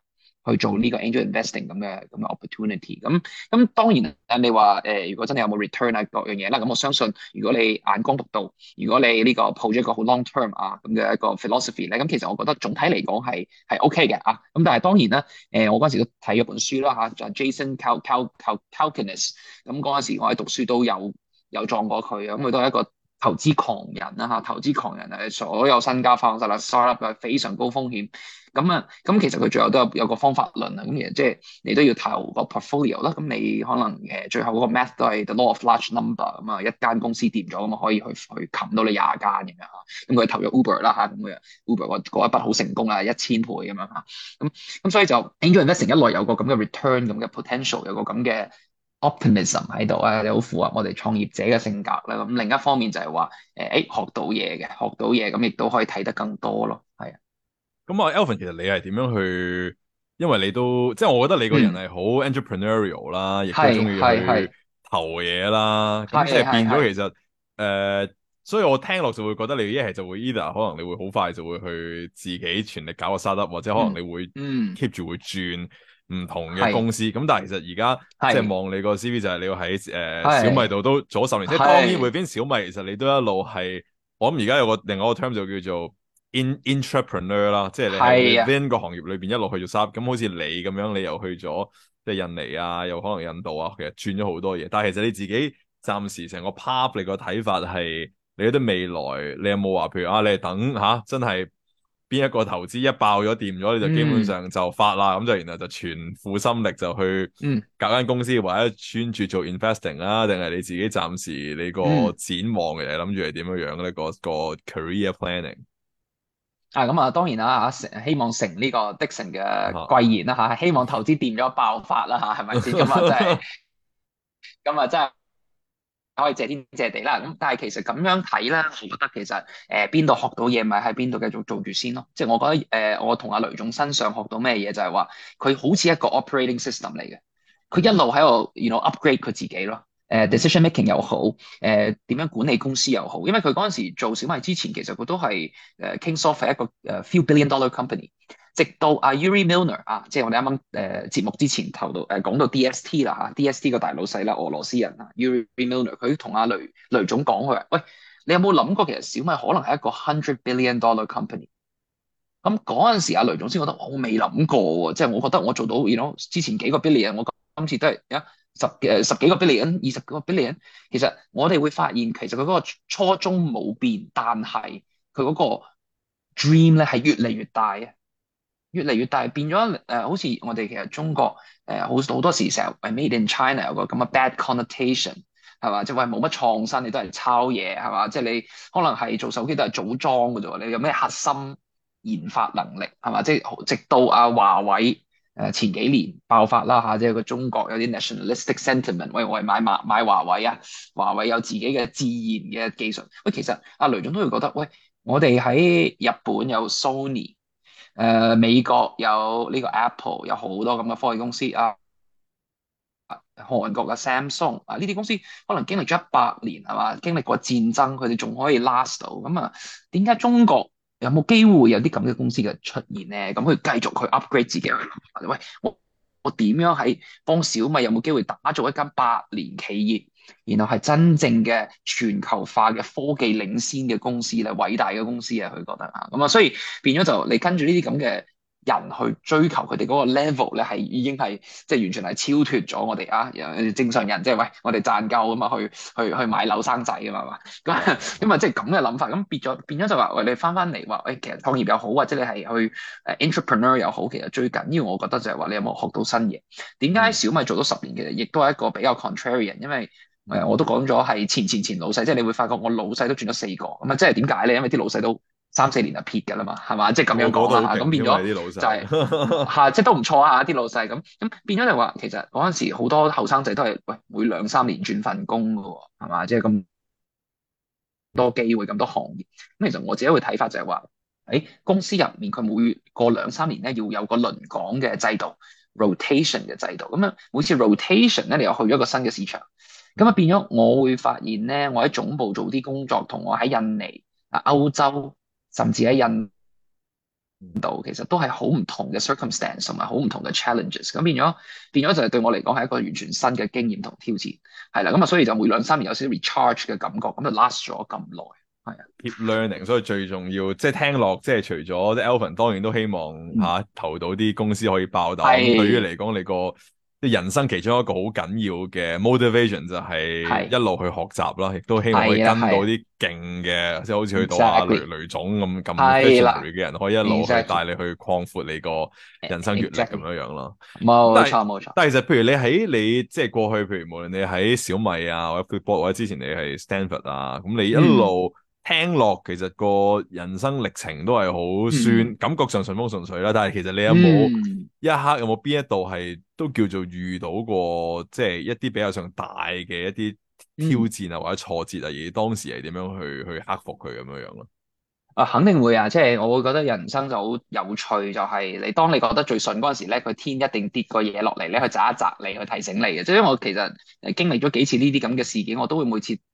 去做呢個 angel investing 咁嘅 opportunity。咁當然你話如果真係有冇 return 啊各樣嘢啦，咁我相信如果你眼光獨到，如果你呢個抱咗一個好 long term 啊咁嘅一個 philosophy 咧，咁其實我覺得總體嚟講係 OK 嘅啊。咁但係當然啦，我嗰陣時都睇咗本書啦嚇，就 Jason Calacanis。咁嗰陣時我喺讀書都有撞過佢，咁佢都係一個投資狂人啦嚇，投資狂人係所有身家放晒啦，startup 係非常高風險。咁其實佢最後都有個方法論啊，咁其實即係你都要投個 portfolio 啦，咁你可能最後嗰個 math 都係 the law of large number 咁啊，一間公司掂咗咁啊，可以去冚到你廿間咁樣嚇，咁佢投咗 Uber 啦嚇，咁佢 Uber 嗰一筆好成功啊，1000倍咁樣嚇，咁所以就 angel investing 一來有個咁嘅 return 咁嘅 potential，有個咁嘅 optimism 喺度啊，你好符合我哋創業者嘅性格啦。咁另一方面就係話學到嘢嘅，學到嘢咁亦都可以睇得更多咯，係啊。 咁啊，Alvin，其實你係點樣去？因為你都即係我覺得你個人係好 entrepreneurial 啦，亦都中意去投嘢啦。咁即係變咗其實所以我聽落就會覺得你一係就會 either 可能你會好快就會去自己全力搞個 startup，或者可能你會 keep 住會轉唔同嘅公司。咁但係其實而家即係望你個 CV 就係你要喺小米度都做咗10年，即係當然會邊小米其實你都一路係，我諗而家有個另外一個 term 就叫做entrepreneur 啦，即係你喺 within 個行業裏邊一路去做 startup，咁好似你咁樣，你又去咗即係印尼啊，又可能印度啊，其實轉咗好多嘢。但係其實你自己暫時成個 path 你個睇法係，你覺得未來你有冇話，譬如你係等真係邊一個投資一爆咗掂咗，你就基本上就發啦，咁就然後就全副心力就去搞間公司，或者專注做 investing 啦，定係你自己暫時你個展望嘅諗住係點樣樣咧？個 career planning。 咁啊，當然啦嚇，希望成呢個 Dixon 嘅貴言啦嚇，希望投資掂咗爆發啦嚇，係咪先？咁啊真係可以謝天謝地啦。咁但係其實咁樣睇咧，我覺得其實邊度學到嘢，咪喺邊度繼續做住先咯。即係我覺得我同阿雷總身上學到咩嘢，就係話佢好似一個 operating system 嚟嘅，佢一路喺度upgrade 佢自己咯。decision making 又好，點樣管理公司又好，因為佢嗰陣時做小米之前，其實佢都係Kingsoft 係一個few billion dollar company， 直到阿 Yuri Milner 即係我哋啱啱節目之前講到 DST 啦嚇，DST 個大老細啦，俄羅斯人Yuri Milner， 佢同阿雷總講佢話，喂，你有冇諗過其實小米可能係一個100 billion dollar company？ 咁嗰陣時阿雷總先覺得我未諗過喎，即係我覺得我做到之前幾個 billion， 我今次都係十幾個 billion、20個 billion， 其實我哋會發現其實佢嗰個初衷冇變，但係佢嗰個 dream 咧係越嚟越大嘅，越嚟越大，變咗好似我哋其實中國好多時成日 made in China 有個咁嘅 bad connotation 係嘛，即係話冇乜創新，你都係抄嘢係嘛，即係你可能係做手機都係組裝嘅啫喎，你有咩核心研發能力係嘛，即係直到華為。前幾年爆發啦嚇，即係個中國有啲 nationalistic sentiment，喂，我係買華為啊，華為有自己嘅自研嘅技術。喂，其實阿雷總都會覺得，喂，我哋喺日本有 Sony，美國有呢個 Apple，有好多咁嘅科技公司啊，韓國嘅 Samsung 呢啲公司可能經歷咗100年係嘛，經歷過戰爭，佢哋仲可以 last 到，咁啊，點解中國有冇機會有啲咁嘅公司嘅出現咧？咁佢繼續去 upgrade 自己去諗法，喂，我點樣喺幫小米有冇機會打造一間100年企業，然後係真正嘅全球化嘅科技領先嘅公司咧，偉大嘅公司啊，佢覺得咁啊，所以變咗就你跟住呢啲咁嘅人去追求佢哋嗰個 level 咧，係已經係即係完全係超脱咗我哋正常人，即係喂我哋賺夠咁啊去買樓生仔啊嘛，咁啊即係咁嘅諗法，咁變咗就話喂，你翻嚟話其實創業又好，或者你係去entrepreneur 又好，其實最緊要我覺得就係話你有冇學到新嘢。點解小米做咗10年，其實亦都係一個比較 contrarian， 因為我都講咗係前老細，即係你會發覺我老細都轉咗4個，咁啊即係點解咧？因為啲老細都3、4年就撇㗎啦嘛，係嘛？即係咁樣講啦，咁變咗就係即係都唔錯啊！啲老細咁變咗就話，其實嗰陣時好多後生仔都係喂每2、3年轉份工㗎喎，係嘛？即係咁多機會，咁多行業。咁其實我自己會睇法就係話，喺公司入面佢每過2、3年咧要有個輪崗嘅制度 ，rotation 嘅制度。咁每次 rotation 咧，你又去咗一個新嘅市場，咁變咗我會發現咧，我喺總部做啲工作，同我喺印尼、歐洲，甚至喺印度，其實都係好唔同嘅 circumstance 同埋好唔同嘅 challenges，咁變咗就係對我嚟講係一個完全新嘅經驗同挑戰，係啦，咁啊所以就每2、3年有少少 recharge 嘅感覺，咁就 last 咗咁耐，係啊。 keep learning，所以最重要即係聽落，即係除咗啲 Alvin，當然都希望投到啲公司可以爆，但係對於係嚟講，你個即係人生其中一個好緊要嘅 motivation 就係一係路去學習啦，亦都希望可以跟到係啦係啲勁嘅，即係好似去到 ，exactly 雷總咁係啦 visionary 嘅人，可以一路去帶 ，exactly 你去擴闊你個人生閱歷咁 exactly 樣樣咯。 冇但係錯冇錯， 但係其實譬如你喺你即係過去，譬如無論你喺小米啊，或者 Flipboard，或者之前你係 Stanford 啊，咁你一嗯路聽落，其實個人生歷程都係好嗯酸，感覺上順風順水啦。但係其實你有冇嗯一刻有冇邊一度係都叫做遇到過，即係一啲比較上大嘅一啲挑嗯。 戰啊，或者挫折啊，而當時係點樣去克服佢咁樣樣咯？ 啊，肯定會啊！即係我會覺得人生就好有趣，就係你當你覺得最順嗰陣時咧，佢天一定跌個嘢落嚟咧，去砸一砸你，去提醒你嘅。即係因為我其實經歷咗幾次呢啲咁嘅事件，我都會每次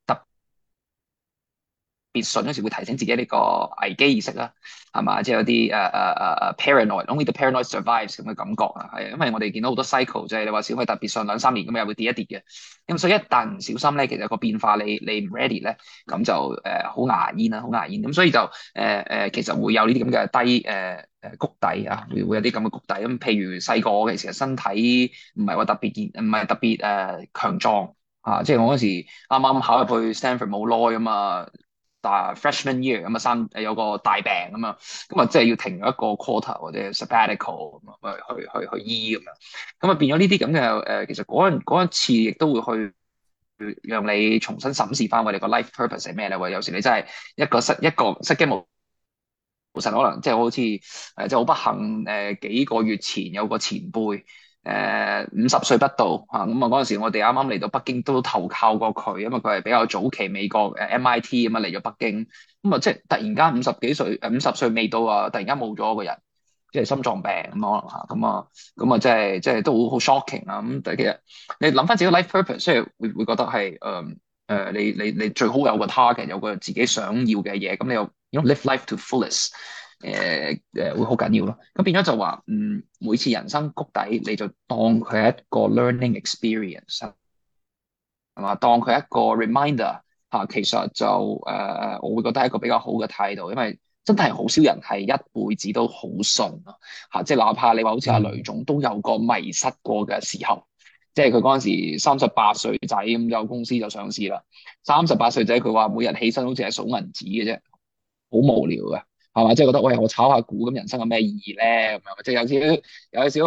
別信嗰時會提醒自己呢個危機意識啦，係嘛？即係有啲paranoid，only the paranoid survives 咁嘅感覺啊，係因為我哋見到好多 cycle，即係你話小米特別信2、3年咁又會跌一跌嘅，咁所以一旦唔小心咧，其實個變化你唔 ready 咧，咁就好牙煙啦，好牙煙，咁所以就其實會有呢啲咁嘅低谷底啊，會有啲咁嘅谷底，咁譬如細個嘅其實身體唔係話特別唔係特別強壯。即係我嗰時啱啱考入去 Stanford 冇耐啊嘛，但 freshman year 咁啊有個大病咁啊，咁啊即係要停咗一個 quarter 或者 sabbatical 咁啊，去醫咁樣，咁啊變咗呢啲咁嘅其實嗰一次亦都會去讓你重新審視翻我哋個 life purpose 係咩咧？喂，有時你真係一個失驚無神，可能即係好似即係好不幸幾個月前有個前輩。50歲不到咁啊嗰陣時我哋啱啱嚟到北京都投靠過佢，因為佢係比較早期美國MIT 咁啊嚟咗北京，咁啊即係突然間50幾歲50歲未到啊，突然間冇咗個人，即係心臟病咁可能嚇，咁啊即係都好 shocking 啊，咁但係其實你諗翻自己 life purpose，即係會覺得係你最好有個 target，有個自己想要嘅嘢，咁你又 live life to fullest。會好緊要咯。咁變咗就話，每次人生谷底，你就當佢係一個 learning experience，係嘛？當佢係一個 reminder 其實就我會覺得係一個比較好嘅態度，因為真係好少人係一輩子都好順即係哪怕你話好似阿雷總都有個迷失過嘅時候，即係佢嗰陣時38歲仔咁有公司就上市啦。38歲仔佢話每日起身好似係數銀紙嘅啫，好無聊嘅。係嘛？即係覺得喂，我炒下股咁，人生有咩意義咧？咁樣即係有少少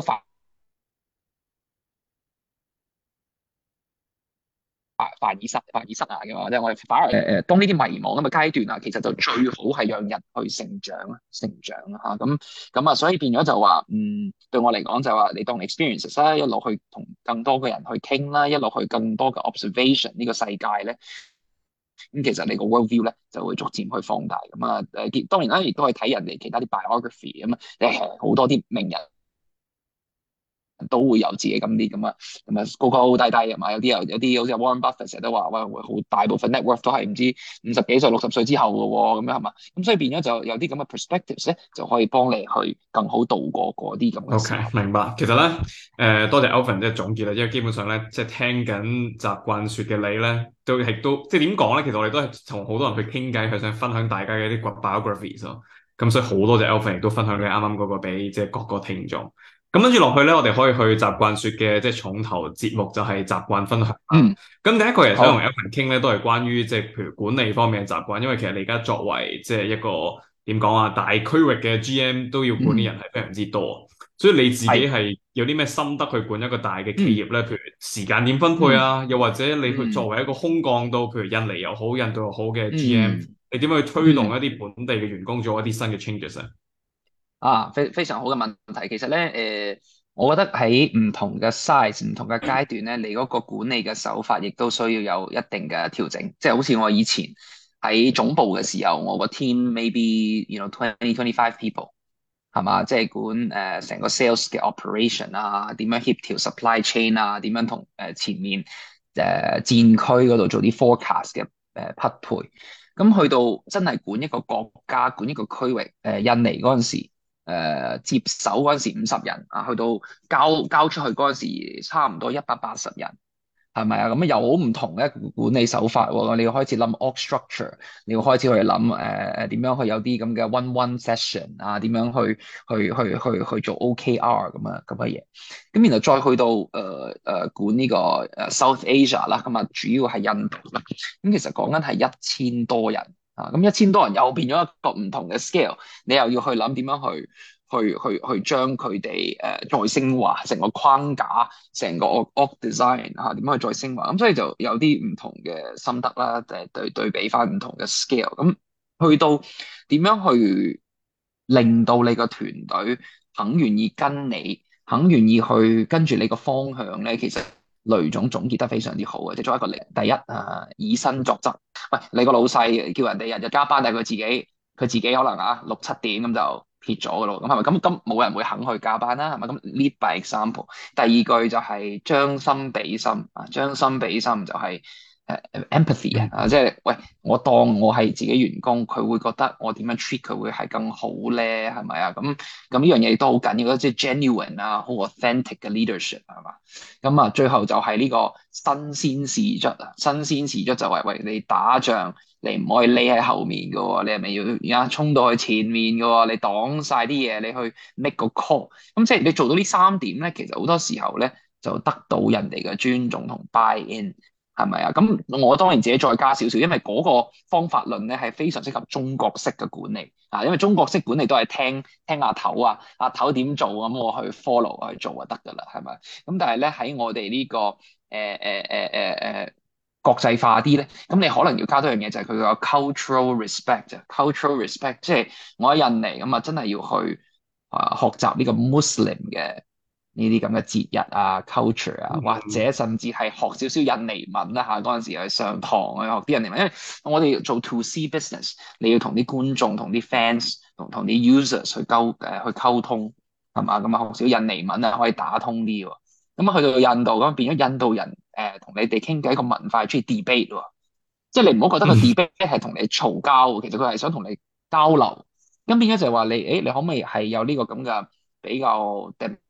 凡爾賽啊嘅嘛。即係我哋反而當呢啲迷茫咁嘅階段啊，其實就最好係讓人去成長咁啊，所以變咗就話對我嚟講就話你當 experiences 啦，一路去同更多嘅人去傾啦，一路去更多嘅 observation 呢個世界咧。咁其實你個 world view 咧就會逐漸去放大咁啊當然啦，亦都係睇人哋其他啲 biography 咁啊，好多啲名人都會有自己咁高高低低係嘛，有啲好似 Warren Buffett 成日都話喂，好大部分 net worth 都係唔知50幾歲60歲之後嘅喎，咁樣係嘛，咁所以變咗就有啲咁嘅 perspectives 咧，就可以幫你去更好度過嗰啲咁嘅時候。 OK，明白。其實咧，多謝 Alvin 即係總結啦，因為基本上咧，即係聽緊習慣說嘅你咧，都即係點講咧？其實我哋都係同好多人去傾偈，去想分享大家嘅一啲 biographies 咯。咁所以好多謝 Alvin 亦都分享你啱啱嗰個俾即係各個聽眾。咁跟住落去咧，我哋可以去習慣說嘅即係重頭節目，就係習慣分享。咁第一個其實想同 Alvin 傾咧，都係關於即係譬如管理方面嘅習慣，因為其實你而家作為即係一個點講啊，大區域嘅 GM 都要管理人係非常之多，所以你自己係有啲咩心得去管一個大嘅企業咧？譬如時間點分配啊，又或者你去作為一個空降到譬如印尼又好、印度又好嘅 GM，你點樣去推動一啲本地嘅員工做一啲新嘅 changes 啊？ 非常好嘅問題。其實咧，我覺得喺唔同嘅 size、唔同嘅階段咧，你嗰個管理嘅手法亦都需要有一定嘅調整。即係好似我以前喺總部嘅時候，我個 team maybe 20-25 people 係嘛，即係管成個 sales 嘅 operation 啊，點樣協調 supply chain 啊，點樣同前面戰區嗰度做啲 forecast 嘅匹配。咁去到真係管一個國家、管一個區域，印尼嗰陣時。 接手嗰陣時50人啊，去到交出去嗰陣時差唔多180人。係咪啊？咁有好唔同嘅管理手法喎。你要開始諗 org structure，你要開始去諗點樣去有啲咁嘅 one session 啊，點樣去做 OKR 咁嘅嘢。咁然後再去到管呢個South Asia 啦，咁啊主要係印度啦。咁其實講緊係1000多人啊，咁1000多人又變咗一個唔同嘅 scale，你又要去諗點樣去將佢哋再升華成個框架，成個 org design 嚇點樣去再升華，咁所以就有啲唔同嘅心得啦，對比翻唔同嘅 scale，咁去到點樣去令到你個團隊肯願意跟你，肯願意去跟住你個方向咧，其實雷總總結得非常之好嘅，即係作為一個領第一以身作則。喂，你個老細叫人哋日日加班，但係佢自己可能6、7點咁就撇咗嘅咯，咁係咪咁冇人會肯去加班啦？係咪咁 lead by example？第二句就係將心比心啊，將心比心就係empathy 啊，即係喂，我當我係自己員工，佢會覺得我點樣 treat 佢會係更好咧？係咪啊？咁呢樣嘢都好緊要，即係 genuine 啊，好 authentic 嘅 leadership 係嘛？咁啊，最後就係呢個新鮮事蹟啊，新鮮事蹟就係喂，你打仗。你唔可以匿喺後面嘅喎，你係咪要而家衝到去前面嘅喎？你擋晒啲嘢，你去 make 個 call。咁即係你做到呢3點咧，其實好多時候咧就得到人哋嘅尊重同 buy in，係咪啊？咁我當然自己再加少少，因為嗰個方法論咧係非常適合中國式嘅管理啊，因為中國式管理都係聽阿頭啊，阿頭點做咁我去 follow 去做就得㗎啦，係咪？咁但係咧喺我哋呢個國際化啲咧，咁你可能要加多樣嘢，就係佢個 cultural respect 啊，cultural respect，即係我喺印尼咁啊，真係要去學習呢個 Muslim 嘅呢啲咁嘅節日啊、culture 啊，或者甚至係學少少印尼文啦嚇。嗰陣時去上堂去學啲印尼文，因為我哋做 to C business，你要同啲觀眾、同啲 fans、同啲 users 去溝通係嘛？咁啊學少印尼文啊，可以打通啲喎。咁啊去到印度咁變咗印度人同你哋傾偈個文化係中意 debate 喎，即係你唔好覺得個 debate 係同你嘈交喎，其實佢係想同你交流。咁變咗就係話你可唔可以係有呢個咁嘅比較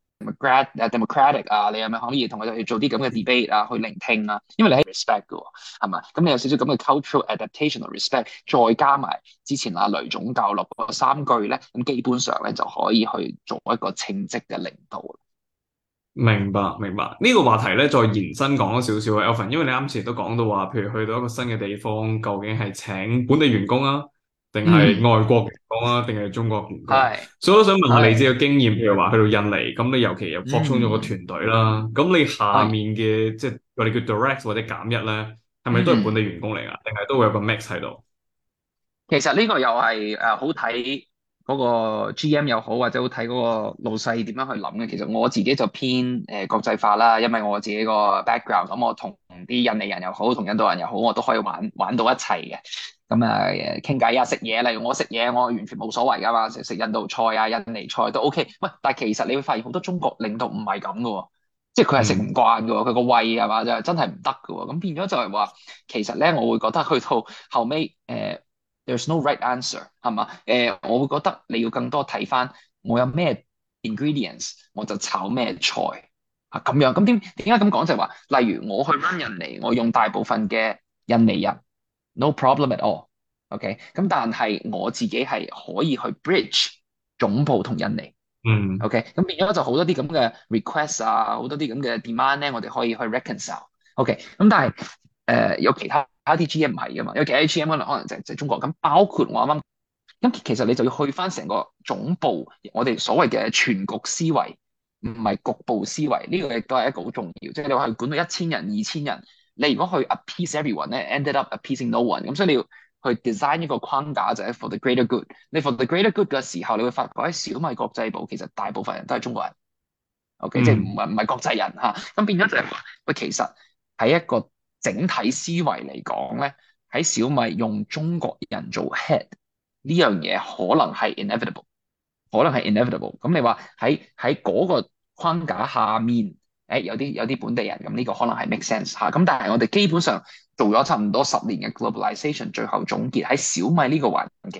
democratic 啊？你係咪可以同佢哋去做啲咁嘅 debate 啊？去聆聽啊？因為你係 respect 嘅喎，係嘛？咁你有少少咁嘅 cultural adaptation 同 respect，再加埋之前阿雷總教落嗰3句咧，咁基本上咧就可以去做一個稱職嘅領導。 明白明白，呢個話題咧再延伸講多少少啊，Alvin，因為你啱前都講到話，譬如去到一個新嘅地方，究竟係請本地員工啊，定係外國員工啊，定係中國員工？ 係， 所以我想問下你自己嘅經驗，譬如話去到印尼，咁你尤其又擴充咗個團隊啦，咁你下面嘅即係我哋叫 direct 或者減一咧，係咪都係本地員工嚟啊？定係都會有個 mix 喺度？ 其實呢個又係好睇嗰個 GM 又好，或者好睇嗰個老細點樣去諗嘅。其實我自己就偏國際化啦，因為我自己個 background，咁我同啲印尼人又好，同印度人又好，我都可以玩到一齊嘅。咁傾偈啊，食嘢，例如我食嘢，我完全冇所謂噶嘛，食印度菜啊、印尼菜都 OK。喂，但係其實你會發現好多中國領導唔係咁噶喎，即係佢係食唔慣噶喎，佢個胃係嘛就真係唔得噶喎。咁變咗就係話，其實咧我會覺得去到後尾there's no right answer 係嘛？我會覺得你要更多睇翻我有咩 ingredients，我就炒咩菜啊咁樣。咁點解咁講就係話，例如我去 run 印尼，我用大部分嘅印尼人，no problem at all。OK，咁但係我自己係可以去 bridge 總部同印尼。OK，咁變咗就好多啲咁嘅 request 啊，好多啲咁嘅 demand 咧，我哋可以去 reconcile。OK，咁但係有其他啲 GM 唔係噶嘛，有其他啲 GM 可能就係中國咁，包括我啱啱咁，其實你就要去翻成個總部，我哋所謂嘅全局思維，唔係局部思維，呢個亦都係一個好重要。即係你話去管到1000人、2000人，你如果去 appease everyone 咧，ended up appeasing no one，咁所以你要去 design 一個框架就係 for the greater good。你 for the greater good 嘅時候，你會發覺喺小米國際部其實大部分人都係中國人，OK，即係唔係國際人嚇。咁變咗就係話，喂，其實喺一個整體思維嚟講咧，喺小米用中國人做 head 呢樣嘢可能係 inevitable，可能係 inevitable。咁你話喺嗰個框架下面，有啲本地人，咁呢個可能係 make sense 嚇。咁但係我哋基本上做咗差唔多10年嘅 globalization，最後總結喺小米呢個環境，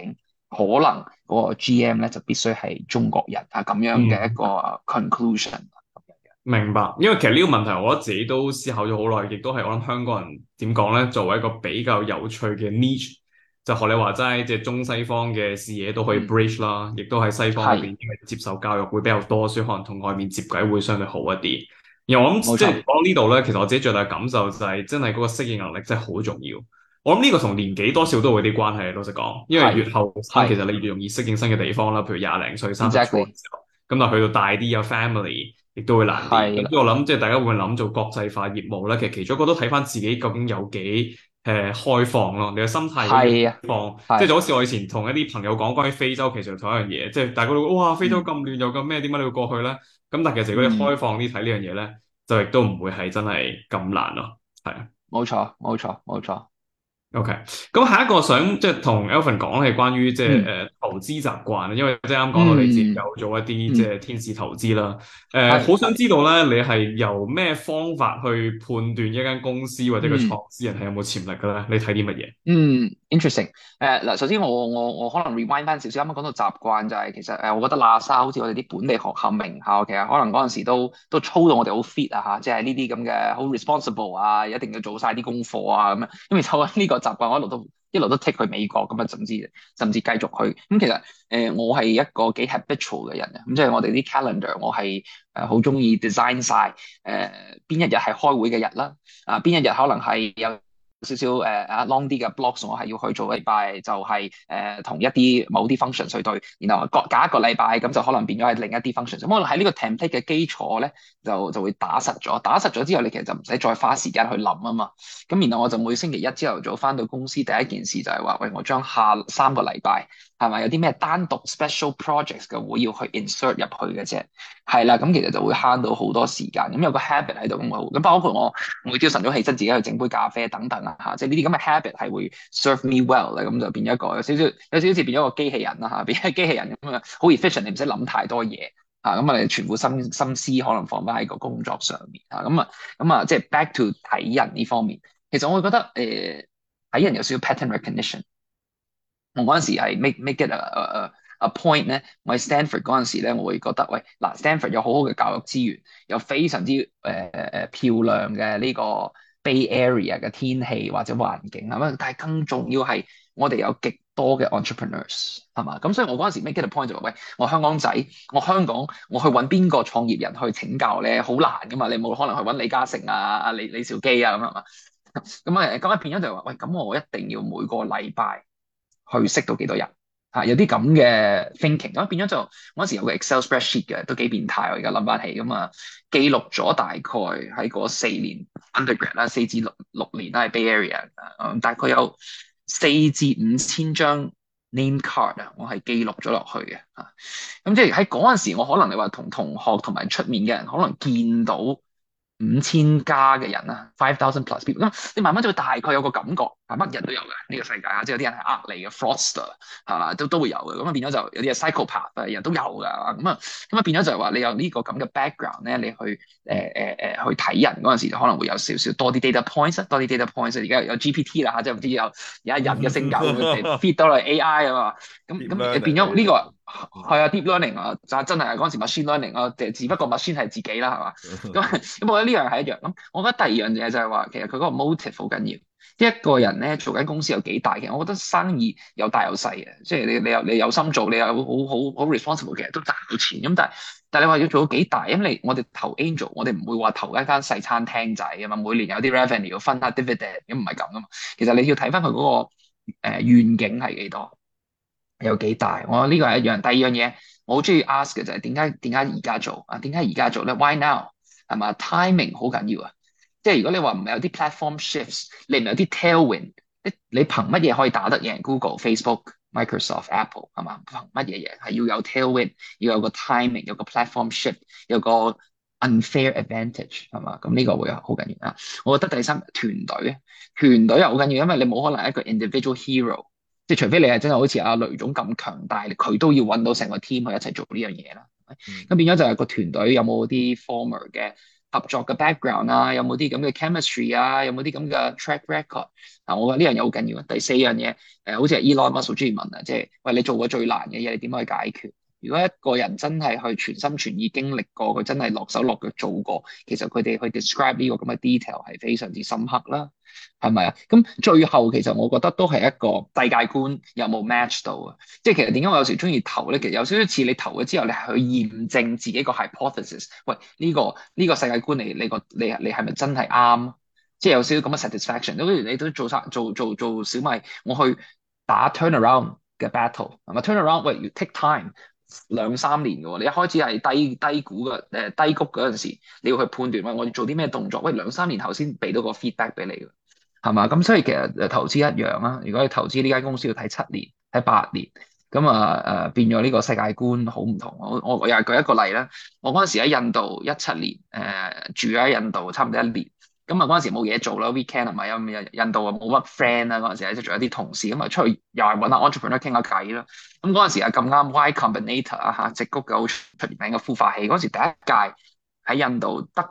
可能嗰個 GM 咧就必須係中國人啊咁樣嘅一嗯。 個 conclusion。 明白，因為其實呢個問題，我覺得自己都思考咗好耐，亦都係我諗香港人點講咧，作為一個比較有趣嘅 niche，就學你話齋，即係中西方嘅視野都可以 bridge 啦，亦都喺西方嗰邊係因為接受教育會比較多，所以可能同外面接軌會相對好一啲。而我諗冇錯， 即係講到呢度咧，其實我自己最大嘅感受就係真係嗰個適應能力真係好重要。我諗呢個同年紀多少都會有啲關係，老實講，因為越係後生其係實你越容易適應新嘅地方啦，譬如20零歲、30初嘅 ，exactly， 時候，咁但係去到大啲有 family。亦都會難啲。 係啦， 咁所以我諗，即係大家會諗做國際化業務咧，其實其中一個都睇翻自己究竟有幾開放咯。你嘅心態如果越係啊， 開放，即係係， 就好似我以前同一啲朋友講關於非洲，其實同一樣嘢，即係大家都哇非洲咁亂又咁咩，點解你會過去咧？咁但係其實如果你嗯， 開放啲睇呢樣嘢咧，就亦都唔會係真係咁難咯。係啊。 冇錯，冇錯，冇錯， OK，咁下一個想即係同 Alvin 講係關於即係嗯投資習慣，因為即係啱講到你自己嗯有做一啲即嗯， 係天使投資啦。 係， 好想知道咧，你係由咩方法去判斷一間公司或者個嗯。 創始人係有冇潛力嘅咧？你睇啲乜嘢？ interesting。嗱，首先我可能 rewind 翻少少，啱啱講到習慣就係其實我覺得喇沙好似我哋啲本地學校名校，其實可能嗰陣時都操到我哋好 fit 啊嚇，即係呢啲咁嘅好 responsible 啊，一定要做晒啲功課啊咁樣。咁其實我呢個習慣我一路都 take 去美國咁啊，甚至繼續去。咁其實我係一個幾 habitual 嘅人啊，咁即係我哋啲 calendar 我係好中意 design 晒邊一日係開會嘅日啦，邊一日可能係有少少long 啲嘅 blocks，我係要去做禮拜，就係同一啲某啲 function 去對，然後隔一個禮拜咁就可能變咗係另一啲 function。咁我喺呢個 template 嘅基礎咧，就會打實咗。打實咗之後，你其實就唔使再花時間去諗啊嘛。咁然後我就每星期一朝頭早翻到公司，第一件事就係話，喂，我將下3個禮拜係咪有啲咩單獨 special projects 嘅會要去 insert 入去嘅啫？係啦，咁其實就會慳到好多時間。咁有個 habit 喺度咁好，咁包括我每朝晨早起身自己去整杯咖啡等等啊嚇，即係呢啲咁嘅 habit 係會 serve me well 咧，咁就變咗一個有少少似變咗個機器人啦嚇，變咗機器人咁樣好 efficient，你唔使諗太多嘢嚇，咁啊你全部心思可能放翻喺個工作上面啊，咁啊即係 back to 睇人呢方面，其實我會覺得睇人有少少 pattern recognition。我嗰陣時係 make it a point 咧，我喺 Stanford 嗰陣時咧，我會覺得喂嗱，Stanford 有好好嘅教育資源，有非常之漂亮嘅呢個 Bay Area 嘅天氣或者環境係咪？但係更重要係我哋有極多嘅 entrepreneurs 係嘛？咁所以我嗰陣時 make it a point 就話喂，我香港仔，我香港我去揾邊個創業人去請教咧，好難噶嘛，你冇可能去揾李嘉誠啊、李兆基啊咁係嘛？咁變咗就話喂，咁我一定要每個禮拜去識到幾多人有啲咁嘅 thinking，咁變咗就嗰陣時有個 Excel spreadsheet 嘅，都幾變態。我而家諗翻起咁啊，記錄咗大概喺嗰4年 undergrad 啦，4至6年啦，喺 Bay Area，大概有4至5千張 name card 啊，我係記錄咗落去嘅嚇。咁即係喺嗰陣時，我可能你話同同學同埋出面嘅人，可能見到5000加嘅人啦，5,000 plus people，咁你慢慢就會大概有個感覺，乜人都有嘅呢個世界啊，即係有啲人係呃你嘅 fraudster 係嘛，都會有嘅，咁啊變咗就有啲係 psychopath 人都有㗎，咁啊變咗就係話你有呢個咁嘅 background 咧，你去去睇人嗰陣時，就可能會有少少多啲 data points，多啲 data points。而家有 GPT 啦嚇，即係唔知有人嘅性格會唔會 feed 到嚟 AI 啊嘛，咁 Deep 咁 learning 變咗呢個。 呢係啊，deep learning 啊，就真係嗰陣時 machine learning 啊，只不過 machine 係自己啦，係嘛？咁我覺得呢樣係一樣。咁我覺得第二樣嘢就係話，其實佢嗰個 motive 好緊要。一個人咧做緊公司有幾大，其實我覺得生意有大有細嘅，即係你有心做，你有好 responsible，其實都賺到錢。咁但係你話要做到幾大，因為我哋投 angel，我哋唔會話投一間細餐廳仔啊嘛，每年有啲 revenue 要分下 dividend，咁唔係咁噶嘛。其實你要睇翻佢嗰個願景係幾多。有幾大？我呢個係一樣。第二樣嘢，我好中意 ask 嘅就係點解而家做啊？點解而家做咧？Why now？係嘛？timing 好緊要啊！即係如果你話唔係有啲 platform shifts，你唔係有啲 tailwind，你憑乜嘢可以打得贏 Google、Facebook、Microsoft、Apple 係嘛？憑乜嘢嘢係要有 tailwind，要有個 timing，有個 platform shift，有個 unfair advantage 係嘛？咁呢個會好緊要啊！我覺得第三團隊又好緊要，因為你冇可能一個 individual hero。即係除非你係真係好似阿雷總咁強大，佢都要揾到成個 team 去一齊做呢樣嘢啦。咁變咗就係個團隊有冇啲 former 嘅合作嘅 background 啊，有冇啲咁嘅 chemistry 啊，有冇啲咁嘅 track record 啊？我覺得呢樣嘢好緊要啊。第四樣嘢，好似係 Elon Musk 好中意問啊，即係喂你做過最難嘅嘢，你點樣去解決？如果一個人真係去全心全意經歷過，佢真係落手落腳做過，其實佢哋去 describe 呢個咁嘅 detail 係非常之深刻啦，係咪啊？咁最後其實我覺得都係一個世界觀有冇 match 到啊？即係其實點解我有時中意投咧？其實有少少似你投咗之後，你係去驗證自己個 hypothesis。喂，呢個世界觀你係咪真係啱？即係有少少咁嘅 satisfaction。好似你都做小米，我去打 turnaround 嘅 battle 係咪 turnaround？喂，要 take time。2-3年嘅喎，你一開始係低谷嘅低谷嗰陣時，你要去判斷喂我要做啲咩動作，喂2-3年後先俾到個 feedback 俾你嘅，係嘛？咁所以其實投資一樣啦，如果你投資呢間公司要睇7年、睇8年，咁變咗呢個世界觀好唔同。我又係舉一個例啦，我嗰陣時喺印度17年，住喺印度差唔多1年。咁啊嗰陣時冇嘢做啦，weekend 係咪印度啊冇乜 friend 啦，嗰陣時即係仲有啲同事咁啊出去又係揾下 entrepreneur 傾下偈啦。咁嗰陣時啊咁啱 Y Combinator 啊嚇，矽谷嘅好出名嘅孵化器，嗰陣時第一屆喺印度得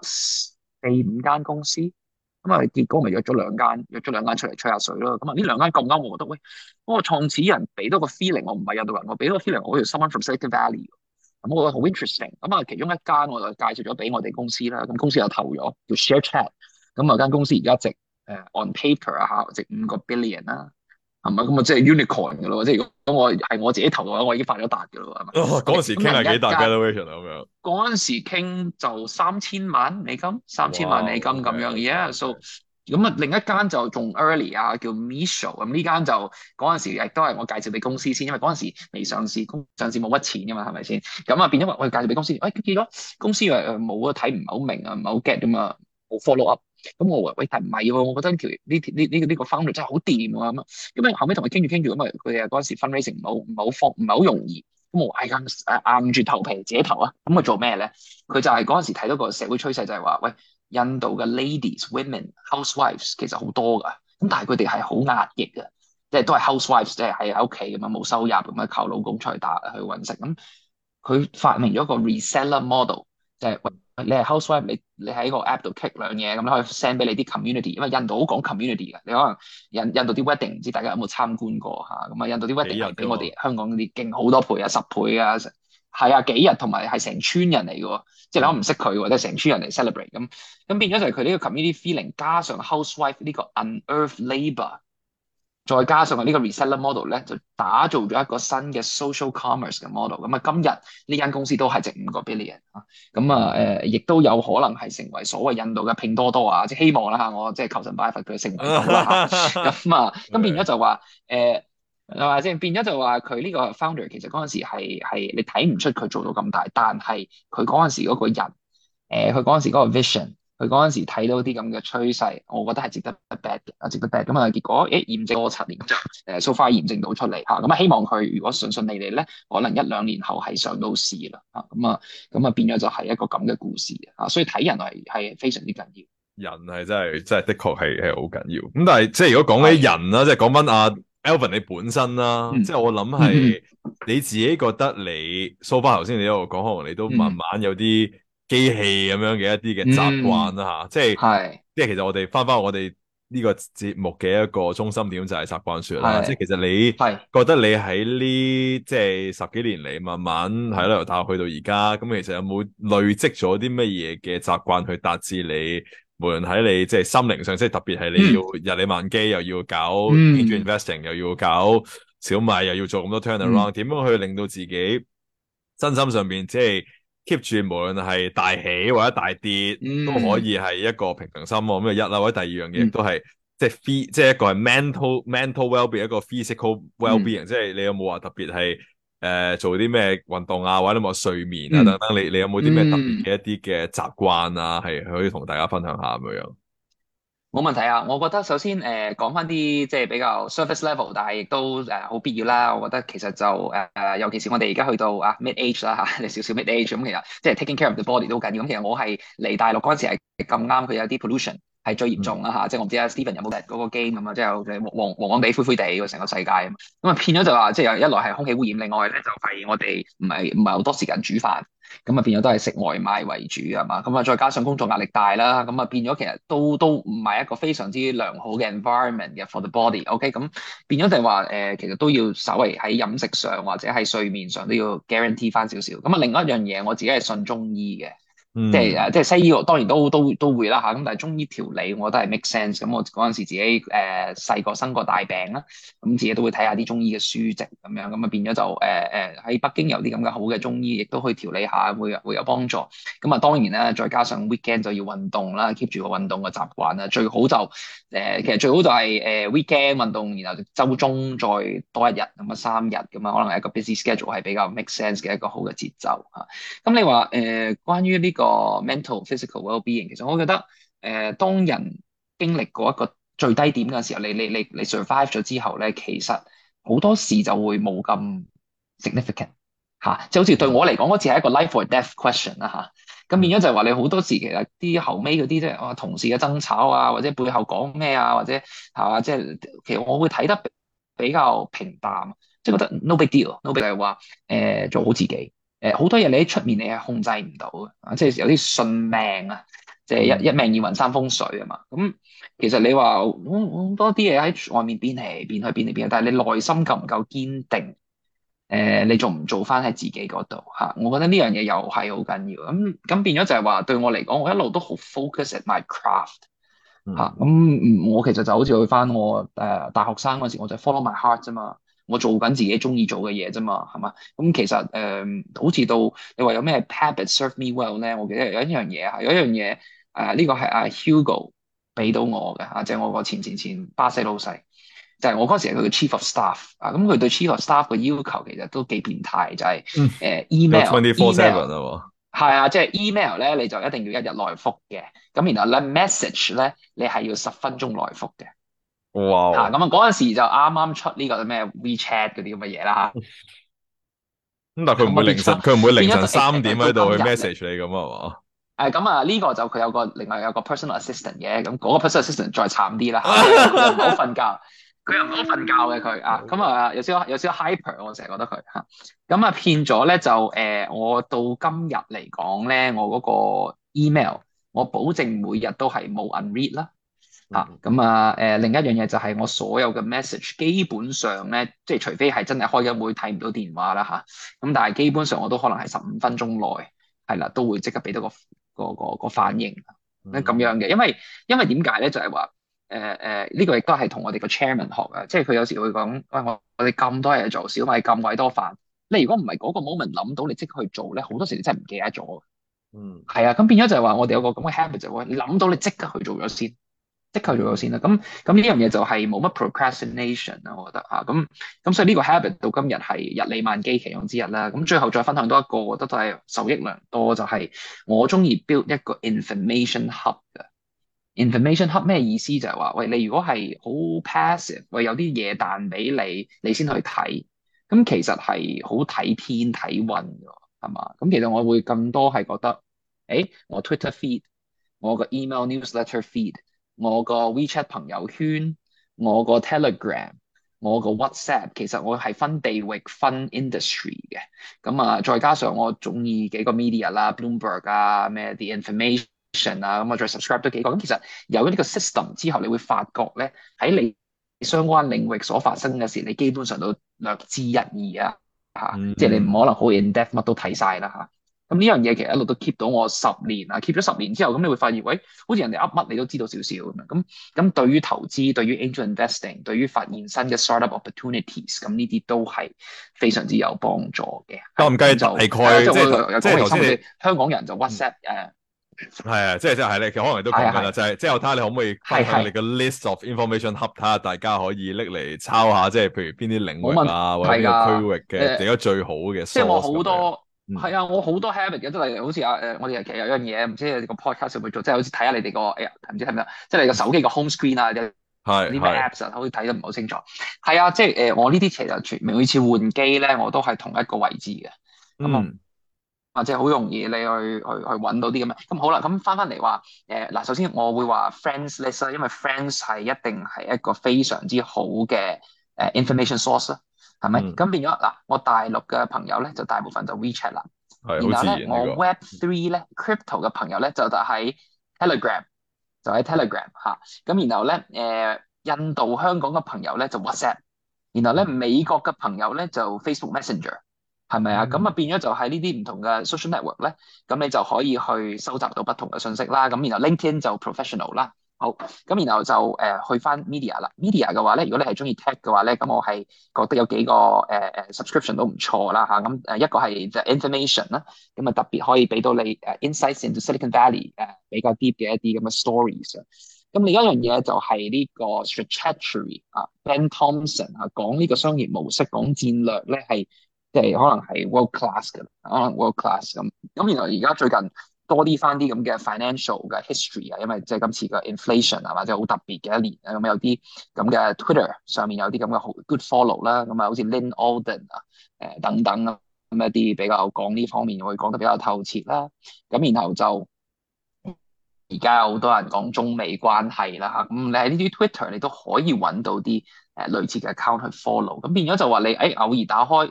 4-5間公司，咁啊結果咪約咗兩間出嚟吹下水咯。咁啊呢兩間咁啱，我覺得喂嗰個創始人俾到個 feeling，我唔係印度人，我俾到個 feeling，我好似 someone from Silicon Valley。咁我覺得好 interesting。咁啊其中一間我就介紹咗俾我哋公司啦，咁公司又投咗叫 ShareChat。咁啊間公司而家值on paper 啊嚇，值5個 billion 啦，係咪？咁啊即係 unicorn 嘅咯，即係如果我係我自己投嘅話，我已經發咗達嘅咯，係咪？ 嗰陣時傾係幾大 valuation 啊咁樣。 嗰陣時傾就3000萬美金，3000萬美金咁樣，yeah，so 咁啊另一間就仲 early 啊，叫 Misho。咁呢間就嗰陣時亦都係我介紹俾公司先，因為嗰陣時未上市，上市冇乜錢㗎嘛，係咪先？咁啊變咗我介紹俾公司，結果公司冇啊，睇唔係好明啊，唔係好 get 㗎嘛，冇 follow up。咁我話喂，但唔係喎，我覺得呢個 founder 真係好掂喎咁啊，因為後尾同佢傾住咁啊，佢哋嗰陣時 fundraising 唔係好容易，咁我話硬住頭皮自己投啊，咁佢做咩咧？佢就係嗰陣時睇到個社會趨勢就係話，喂，印度嘅 ladies、women、housewives 其實好多㗎，咁但係佢哋係好壓抑嘅，即係都係 housewives，即係喺屋企咁樣冇收入咁樣靠老公出去去揾食。咁佢發明咗個 reseller model，即係喂。你係 housewife，你喺個 app 度 click 兩嘢，咁你可以 send 俾你啲 community，因為印度好講 community 嘅。你可能印度啲 wedding 唔知大家有冇參觀過嚇？咁啊，印度啲 wedding 係比我哋香港啲勁好多倍啊，10倍啊，係啊，幾日同埋係成村人嚟嘅喎，即係你可能唔識佢或者成村人嚟 celebrate 咁變咗就係佢呢個 community feeling 加上 housewife 呢個 unearthed labour。再加上呢個 reseller model 咧，就打造咗一個新嘅 social commerce 嘅 model。咁啊，今日呢間公司都係值5個 billion 啊。咁啊，亦都有可能係成為所謂印度嘅拼多多啊，即係希望啦嚇，我即係求神拜佛佢成為到啦嚇。咁變咗就話係嘛先？變咗就話佢呢個 founder 其實嗰陣時係你睇唔出佢做到咁大，但係佢嗰陣時嗰個人，佢嗰陣時嗰個 vision。佢嗰陣時睇到啲咁嘅趨勢，我覺得係值得 back 嘅，值得 back。咁啊，結果驗證咗7年，就so far 驗證到出嚟嚇。咁啊，希望佢如果順順利利咧，可能1-2年後係上到市啦嚇。咁啊變咗就係一個咁嘅故事啊。所以睇人係非常之緊要。 人係真係的確係好緊要。咁但係即係如果講起人啦，即係講翻阿 Alvin 你本身啦，即係我諗係你自己覺得你 so far 頭先你一路講，可能你都慢慢有啲機器咁樣嘅一啲嘅習慣啦嚇，即係其實我哋翻我哋呢個節目嘅一個中心點就係習慣說啦，即係其實你覺得你喺呢即係10幾年嚟慢慢係咯由大學去到而家，咁其實有冇累積咗啲乜嘢嘅習慣去達至你無論喺你即係心靈上，即係特別係你要日理萬機，又要搞 angel investing，又要搞小米，又要做咁多 turnaround，點樣去令到自己身心上邊即係keep 住無論係大起或者大跌，都可以係一個平衡心喎。咁啊一啦，或者第二樣嘢都係即係一個係 mental well-being， 一個 physical well-being，即係你有冇話特別係做啲咩運動啊，或者有冇睡眠啊等等，你有冇啲咩特別嘅一啲嘅習慣啊，係可以同大家分享下咁樣？ 冇問題啊！我覺得首先講翻啲即係比較 surface level，但係亦都好必要啦。我覺得其實就尤其是我哋而家去到mid age 啦嚇，你少少 mid age 咁，其實即係 taking care of the body 都好緊要。咁其實我係嚟大陸嗰陣時係咁啱，佢有啲 pollution， 係最嚴重啦嚇，即係我唔知阿 Steven 有冇嗰個 game 咁啊，即係黃黃地、灰灰地個成個世界咁啊，變咗就話即係一來係空氣污染，另外咧就係我哋唔係好多時間煮飯，咁啊變咗都係食外賣為主係嘛，咁啊再加上工作壓力大啦，咁啊變咗其實都唔係一個非常之良好嘅 environment 嘅 for the body，OK，咁變咗就係話其實都要稍微喺飲食上或者喺睡眠上都要 guarantee 翻少少，咁啊另外一樣嘢我自己係信中醫嘅。即係西醫當然都會啦嚇，咁但係中醫調理我覺得係 make sense。咁我嗰陣時自己細個生過大病啦，咁自己都會睇下啲中醫嘅書籍咁樣，咁啊變咗就喺北京有啲咁嘅好嘅中醫，亦都可以調理下，會有幫助。咁啊當然啦，再加上 weekend 就要運動啦，keep 住個運動嘅習慣啦。最好就其實最好就係weekend 運動，然後週中再多一日咁啊3日咁啊，可能係一個 busy schedule 係比較 make sense 嘅一個好嘅節奏嚇。咁你話關於呢個 mental physical well-being，其實我覺得當人經歷過一個最低點嘅時候，你 survive 咗之後咧，其實好多事就會冇咁 significant 嚇，即係好似對我嚟講，嗰次係一個 life or death question 啦嚇。咁變咗就係話你好多時其實啲後尾嗰啲即係同事嘅爭吵啊，或者背後講咩啊，或者係嘛，即係其實我會睇得比較平淡，即係覺得 no big deal，no big deal 就係話做好自己。好多嘢你喺出面你係控制唔到嘅，即係有啲信命啊，即係一命二運三風水啊嘛。咁其實你話好多啲嘢喺外面變嚟變去變嚟變去，但係你內心夠唔夠堅定？你做唔做翻喺自己嗰度嚇？我覺得呢樣嘢又係好緊要。咁變咗就係話對我嚟講，我一路都好 focus at my craft 嚇。我其實就好似去翻我大學生嗰時，我就 follow my heart 啫嘛。我做緊自己中意做嘅嘢啫嘛，係嘛？咁其實好似到你話有咩 habit serve me well 咧？我記得有一樣嘢有一樣嘢呢個係阿 Hugo 俾到我嘅嚇，即係我個前巴西老細，就係我嗰時係佢嘅 chief of staff 啊。咁佢對 chief of staff 嘅要求其實都幾變態，就係email 係啊，即係 email 咧你就一定要一日內覆嘅，咁然後咧 message 咧你係要10分鐘內覆嘅。 哇！ 咁啊嗰陣時就啱啱出呢個咩 WeChat 嗰啲咁嘅嘢啦嚇。 咁但係佢唔會凌晨3點喺度去 message 你咁啊嘛？ 咁啊呢個就佢另外有個 personal assistant 嘅，咁嗰個 personal assistant 再慘啲啦，佢又唔好瞓覺，嘅佢啊，咁啊有少少 hyper， 我成日覺得佢嚇。咁啊騙咗咧就我到今日嚟講咧，我嗰個 email 我保證每日都係冇 unread 啦。咁另一樣嘢就係我所有嘅 message 基本上咧，即係除非係真係開緊會睇唔到電話啦咁但係基本上我都可能係15分鐘內係啦，都會即刻俾到個反應咁樣嘅，因為點解咧就係話呢個亦都係同我哋個 chairman 學嘅，即係佢有時會講喂，我哋咁多嘢做，小米咁鬼多飯，你如果唔係嗰個 moment 諗到你即刻去做咧，好多時你真係唔記得咗。係啊，咁變咗就係話我哋有個咁嘅 habit 就係你諗到你即刻去做咗先。即刻做咗先啦，咁呢樣嘢就係冇乜 procrastination 啦，我覺得咁所以呢個 habit 到今日係日理萬機其中之一啦。咁最後再分享多一個，我覺得都係受益良多，就係我中意 build 一個 information hub 嘅。information hub 咩意思？就係話，喂，你如果係好 passive，喂，有啲嘢彈俾你先去睇，咁其實係好睇天睇運㗎，係嘛？咁其實我會更多係覺得，我 Twitter feed，我個 email newsletter feed。我個 WeChat 朋友圈，我個 Telegram，我個 WhatsApp，其實我係分地域、分 industry 嘅。咁再加上我中意幾個 media 啦 ，Bloomberg 啊，咩 The Information 啊，咁我再 subscribe 多幾個。咁其實有咗呢個 system 之後，你會發覺咧喺你相關領域所發生嘅事，你基本上都略知一二即係你唔可能好 in depth 乜都睇晒啦咁呢樣嘢其實一路都 keep 到我10年keep 咗10年之後，咁你會發現，喂，好似人哋噏乜你都知道少少咁樣。咁對於投資、對於 angel investing、對於發現新嘅 startup opportunities，咁呢啲都係非常之有幫助嘅。 計唔計大概即係頭先香港人就 WhatsApp 係啊，即係你可能都講緊啦，就係即係我睇下你可唔可以分享你個 list of information hub，睇下大家可以拎嚟抄下，即係譬如邊啲領域或者邊個區域嘅而家最好嘅。 即係我好多。我好多 habit 嘅，即係好似我哋其實有樣嘢，唔知你個 podcast 會唔會做，即係好似睇下你哋個唔知睇唔睇，即係你個手機個 home screen 啊，啲咩 apps 好似睇得唔好清楚。係啊，即係我呢啲其實每次換機咧，我都係同一個位置嘅。 或者好容易你去揾到啲咁嘅。咁好啦，咁翻嚟話嗱，首先我會話 friends list 啦，因為 friends 係一定係一個非常之好嘅information source 啦，係咪？咁變咗嗱，我大陸嘅朋友咧就大部分就 WeChat 啦， 係好然後咧我自然呢個。 Web3 咧 crypto 嘅朋友咧就喺 Telegram，就喺 Telegram 嚇，咁然後咧印度香港嘅朋友咧就 WhatsApp，然後咧美國嘅朋友咧就 Facebook Messenger。係咪啊？咁啊變咗就係呢啲唔同嘅 social network 咧，咁你就可以去收集到不同嘅信息啦。咁然後 LinkedIn 就 professional 啦。好，咁然後就去翻 media 啦。media 嘅話咧，如果你係中意 tech 嘅話咧，咁我係覺得有幾個subscription 都唔錯啦嚇。咁一個係就 information 啦，咁啊特別可以俾到你insights into Silicon Valley 比較 deep 嘅一啲咁嘅 stories 啊。咁另一樣嘢就係呢個 strategy 啊，Ben Thompson 啊，講呢個商業模式、講戰略咧係。即係可能係 world class 嘅，可能 world class 咁。咁然後而家最近多啲翻啲咁嘅 financial 嘅 history 啊，因為即係今次嘅 inflation 啊，或者好特別嘅一年啊，咁有啲咁嘅 Twitter 上面有啲咁嘅好 good follow 啦，咁啊好似 Lynn Alden 啊，等等啊，咁一啲比較講呢方面會講得比較透徹啦。咁然後就而家有好多人講中美關係啦嚇，咁你喺呢啲 Twitter 你都可以揾到啲類似嘅 account 去 follow，咁變咗就話你偶爾打開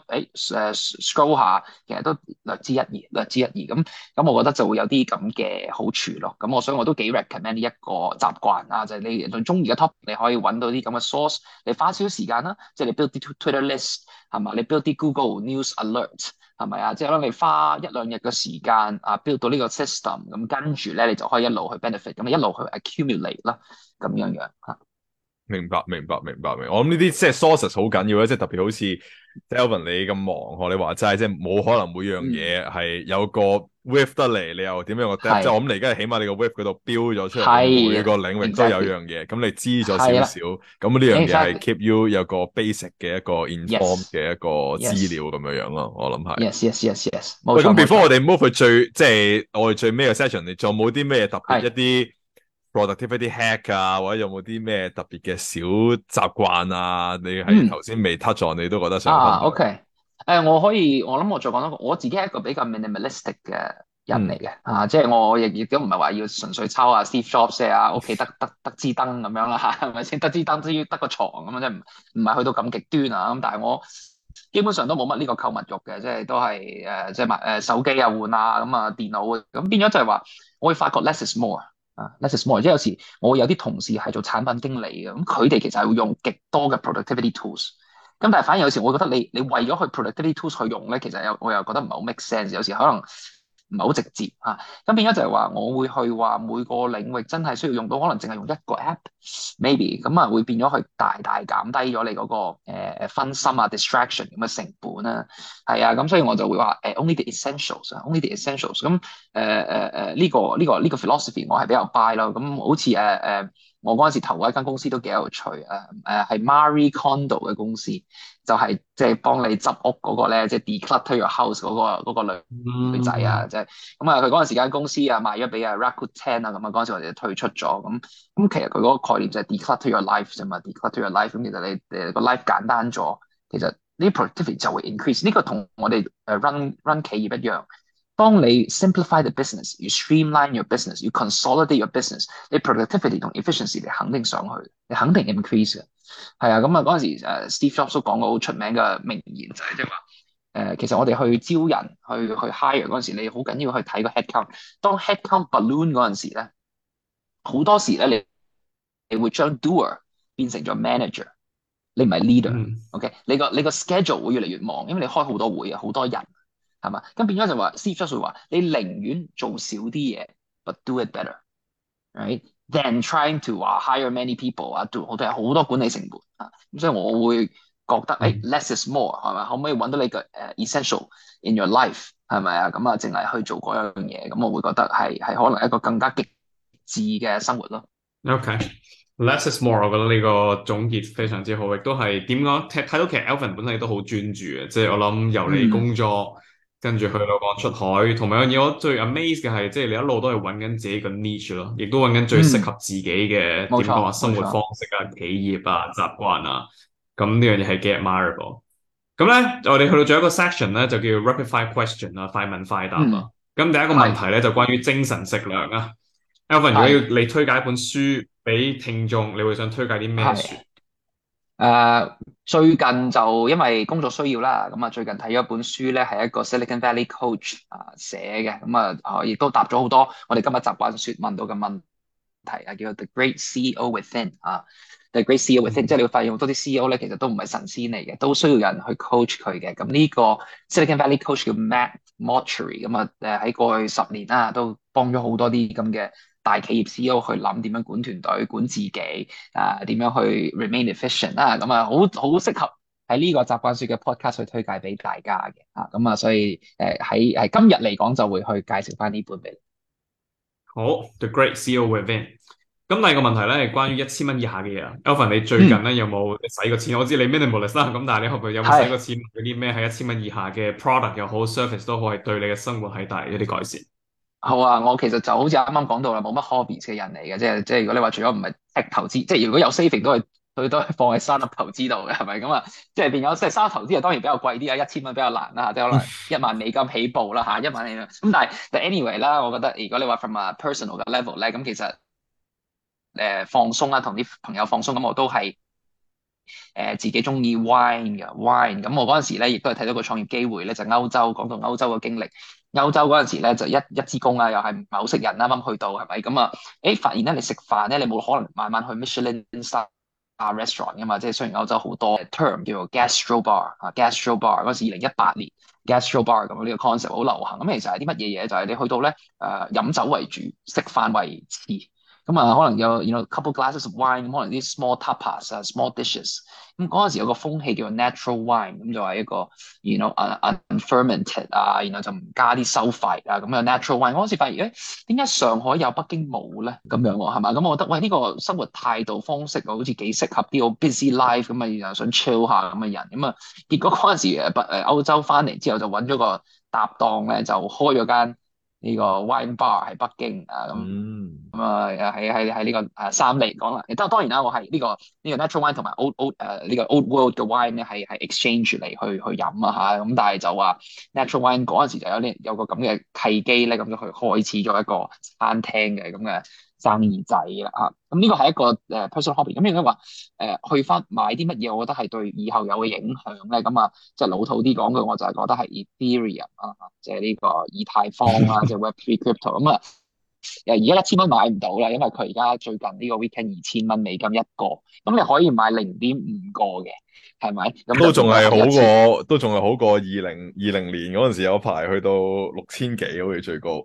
scroll 下，其實都略知一二，略知一二咁我覺得就會有啲咁嘅好處咯。咁所以我都幾 recommend 呢一個習慣啊，就係你對中意嘅 topic 你可以揾到啲咁嘅 source，你花少少時間啦，即係你 build 啲 Twitter list 係嘛，你 build 啲 Google News Alert。係咪啊？即係可能你花一兩日嘅時間build 到呢個 system，咁跟住咧你就可以一路去 benefit，咁一路去 accumulate 啦，咁樣樣嚇。 明白，明白，明白，明白。我諗呢啲即係 sources 好緊要咧，即係特別好似 Elvin 你咁忙，學你話齋，即係冇可能每樣嘢係有個 width 得嚟，你又點樣個 depth？即係我諗你而家係起碼你個 width 嗰度標咗出嚟，你每個領域都有樣嘢，咁你知咗少少，咁呢樣嘢係 keep you 有個 basic 嘅一個 inform 嘅一個資料咁樣樣咯，我諗係。 Yes， 喂，咁 before 我哋 move 去即係我哋最尾嘅 session，你仲有冇啲咩特別一啲productivity hack 啊，或者有冇啲咩特別嘅小習慣啊？你係頭先未 touch on，你都覺得想分享 ？OK，我諗我再講多個，我自己係一個比較 minimalistic 嘅人嚟嘅，即係我亦都唔係話要純粹抄下 Steve Jobs 啊，屋企得支燈咁樣啦嚇，係咪先？得支燈都要得個床咁樣，即係唔係去到咁極端啊？咁但係我基本上都冇乜呢個購物慾嘅，即係都係即係買手機啊換啊咁啊電腦咁變咗就係話，我會發覺 less is more。less is more，即係有時我會有啲同事係做產品經理嘅，咁佢哋其實係會用極多嘅 productivity tools，咁但係反而有時我會覺得你為咗去 productivity tools 去用咧，其實我又覺得唔係好 make sense，有時可能唔係好直接嚇，咁變咗就係話我會去話每個領域真係需要用到，可能淨係用一個 app，maybe 咁啊會變咗去大大減低咗你嗰個分心啊 distraction 咁嘅成本啦，係啊，咁所以我就會話only the essentials，only the essentials，咁呢個 philosophy 我係比較 buy 咯，咁好似我嗰陣時投嗰一間公司都幾有趣係 Marie Kondo 嘅公司，就係即係幫你執屋嗰個咧，即係 declutter your house 嗰個女仔啊，即係咁啊，佢嗰陣時間公司賣咗俾Rakuten 啊，咁啊嗰陣時我哋就退出咗，咁其實佢嗰個概念就係 declutter your life 啫嘛，declutter your life，咁其實你個 life 簡單咗，其實呢 productivity 就會 increase，呢個同我哋run 企業一樣。當你 simplify the business， you streamline your business， you consolidate your business， 你 productivity 同 efficiency 你肯定上去，你肯定 increase 嘅。係啊，咁啊嗰陣時Steve Jobs 都講過好出名嘅名言就係即係話其實我哋去招人去 hire 嗰陣時，你好緊要去睇個 headcount。當 headcount balloon 嗰陣時咧，好多時咧你會將 doer 變成咗 manager， 你唔係 leader。OK，你個 schedule 會越嚟越忙，因為你開好多會啊，好多人。係嘛？咁變咗就話 Steve Jobs 會話，你寧願做少啲嘢，but do it better，right？Than trying to hire many people 做好多管理成本啊。咁所以我會覺得less is more 係咪？可唔可以揾到你嘅essential in your life 係咪啊？咁淨係去做嗰樣嘢，咁我會覺得係可能一個更加極致嘅生活咯。 OK，less is more，我覺得呢個總結非常之好，亦都係點講？睇到其實 Elvin 本身都好專注嘅，即係我諗由你工作。跟住去到講出海，同埋樣嘢我最 amaze 嘅係，即係你一路都係揾緊自己個 niche 咯，亦都揾緊最適合自己嘅點講話生活方式啊、企業啊、習慣啊，咁呢樣嘢係幾 admirable。 咁咧，我哋去到最後一個 section 咧，就叫 rapid fire question 啊，快問快答啊。咁第一個問題咧就關於精神食糧啊。Alvin，如果要係你推介一本書俾聽眾，你會想推介啲咩書？ 係誒，最近就因為工作需要啦，咁啊最近睇咗一本書咧，係一個 Silicon Valley coach 寫嘅，咁亦都答咗好多我哋今日習慣說問到嘅問題啊，叫做 The Great CEO Within 啊，The Great CEO Within，即係你會發現好多啲 CEO 咧，其實都唔係神仙嚟嘅，都需要人去 coach 佢嘅。咁呢個 Silicon Valley coach 叫 Matt Mochary，咁喺過去10年啦，都幫咗好多啲咁嘅大企業 CEO 去諗點樣管團隊、管自己，點樣去 remain efficient 啦，咁好適合喺呢個習慣說嘅 podcast 去推介俾大家嘅，咁所以喺今日嚟講就會去介紹翻呢本俾你。 好，The Great CEO Within。咁第二個問題咧係關於1000蚊以下嘅嘢啊。Alvin，你最近咧有冇使過錢？我知你 minimalist 啦，咁但係你有冇使過錢嗰啲咩係1000蚊以下嘅 product 又好 service 都好，係對你嘅生活係帶嚟一啲改善？ 好啊，我其實就好似啱啱講到啦，冇乜 hobbies 嘅人嚟嘅，即係如果你話除咗唔係 tech 投資，即係如果有 saving 都係放喺 startup 投資度嘅，係咪咁啊？即係變咗即係 startup 投資啊，當然比較貴啲啊，1000蚊比較難啦，即係可能1萬美金起步啦嚇，1萬美金。咁但係 anyway 啦，我覺得如果你話 from a personal 嘅 level 咧，咁其實放鬆啦，同啲朋友放鬆，咁我都係自己中意 wine 嘅 wine。咁我嗰陣時咧亦都係睇到個創業機會咧，就歐洲講到歐洲嘅經歷。歐洲嗰陣時咧就一支公啊，又係唔係好識人，啱啱去到係咪咁啊？發現咧你食飯咧，你冇可能晚晚去 Michelin star restaurant 噶嘛，即係雖然歐洲好多 term 叫做 gastro bar 啊，gastro bar 嗰時2018年 gastro bar 咁呢個 concept 好流行。咁其實係啲乜嘢嘢？就係你去到咧飲酒為主，食飯為次。咁可能有 couple glasses of wine，咁可能啲 small tapas 啊，small dishes。咁嗰陣時有個風氣叫做 natural wine，咁就係一個unfermented 啊，然後就唔加啲收費啊，咁樣 natural wine。嗰陣時發現點解上海有北京冇咧？咁樣喎係嘛？咁我覺得喂呢個生活態度方式好似幾適合啲好 busy life 咁啊，然後想 chill 下咁嘅人。咁結果嗰陣時歐洲翻嚟之後就揾咗個搭檔咧，就開咗間呢個 wine bar 喺北京啊咁。喺呢個三嚟講啦，當然啦，我係呢個 natural wine 同埋 呢個 old world 嘅 wine 咧係 exchange 嚟去飲啊嚇，咁但係就話 natural wine 嗰陣時就有個咁嘅契機咧，咁就去開始咗一個餐廳嘅咁嘅生意仔啦嚇。咁呢個係一個personal hobby。咁應該話去翻買啲乜嘢，我覺得係對以後有嘅影響咧。咁即係老土啲講句，我就係覺得係 Ethereum 即係呢個以太坊啊，即係 Web3 crypto 咁而家1000蚊買唔到啦，因為佢而家最近呢個 weekend 2000蚊美金一個，咁你可以買0.5個嘅，係咪？咁都仲係好過2020年嗰陣時有排去到6000幾，好似最高。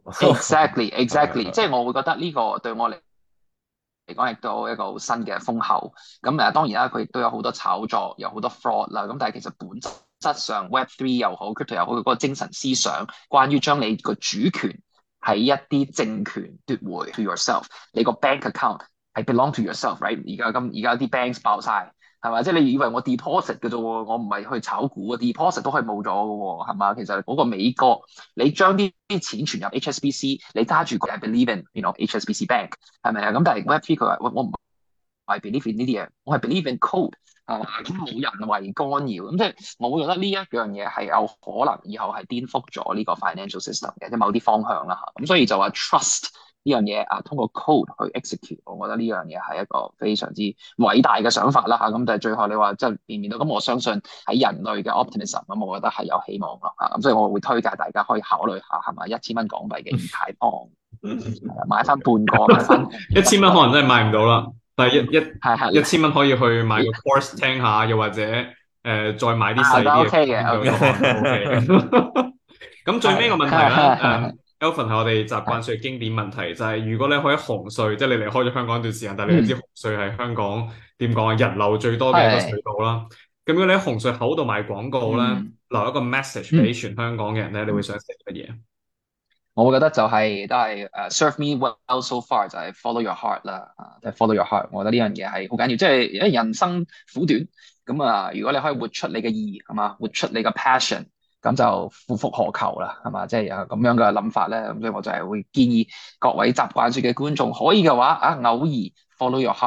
Exactly，即係我會覺得呢個對我嚟講亦都一個好新嘅風口。咁當然啦，佢亦都有好多炒作，有好多 fraud 啦。咁但係其實本質上 Web3 又好，crypto 又好，嗰個精神思想，關於將你個主權喺一啲政權奪回 to yourself，你個 bank account 係 belong to yourself，right？而家啲 banks 爆晒，係嘛？即係你以為我 deposit 嘅啫喎，我唔係去炒股啊，deposit 都可以冇咗嘅喎，係嘛？其實嗰個美國，你將啲錢存入 HSBC，你揸住佢係 believe in HSBC Bank 係咪啊？咁但係 Web3 佢話我唔係 believe in 呢啲嘢，我係 believe in code。咁冇人為干擾，咁即係我會覺得呢一樣嘢係有可能以後係顛覆咗呢個 financial system 嘅，即係某啲方向啦嚇。咁所以就話 trust 呢樣嘢通過 code 去 execute，我覺得呢樣嘢係一個非常之偉大嘅想法啦嚇。咁但係最後你話即係變唔變到，咁我相信喺人類嘅 optimism，咁我覺得係有希望咯嚇。咁所以我會推介大家可以考慮下係咪1000蚊港幣嘅以太坊，買翻半個，買翻 1000蚊可能真係買唔到啦。但係1000蚊可以去買個 course 聽下，又或者再買啲細啲嘅。咁最尾個問題咧，Alvin 係我哋習慣說嘅經典問題，就係如果你可以紅隧，即係你離開咗香港一段時間，但係你都知紅隧係香港點講啊，人流最多嘅一個隧道啦。咁如果你喺紅隧口度賣廣告咧，留一個 message 俾全香港嘅人咧，你會想寫乜嘢？ 我會覺得都係serve me well so far，就係 follow your heart 啦，就係 follow your heart。我覺得呢樣嘢係好緊要，即係因為人生苦短，咁如果你可以活出你嘅意義，係嘛，活出你嘅 passion，咁就夫復何求啦，係嘛，即係有咁樣嘅諗法咧。咁所以我就係會建議各位習慣說嘅觀眾，可以嘅話偶爾 follow your heart。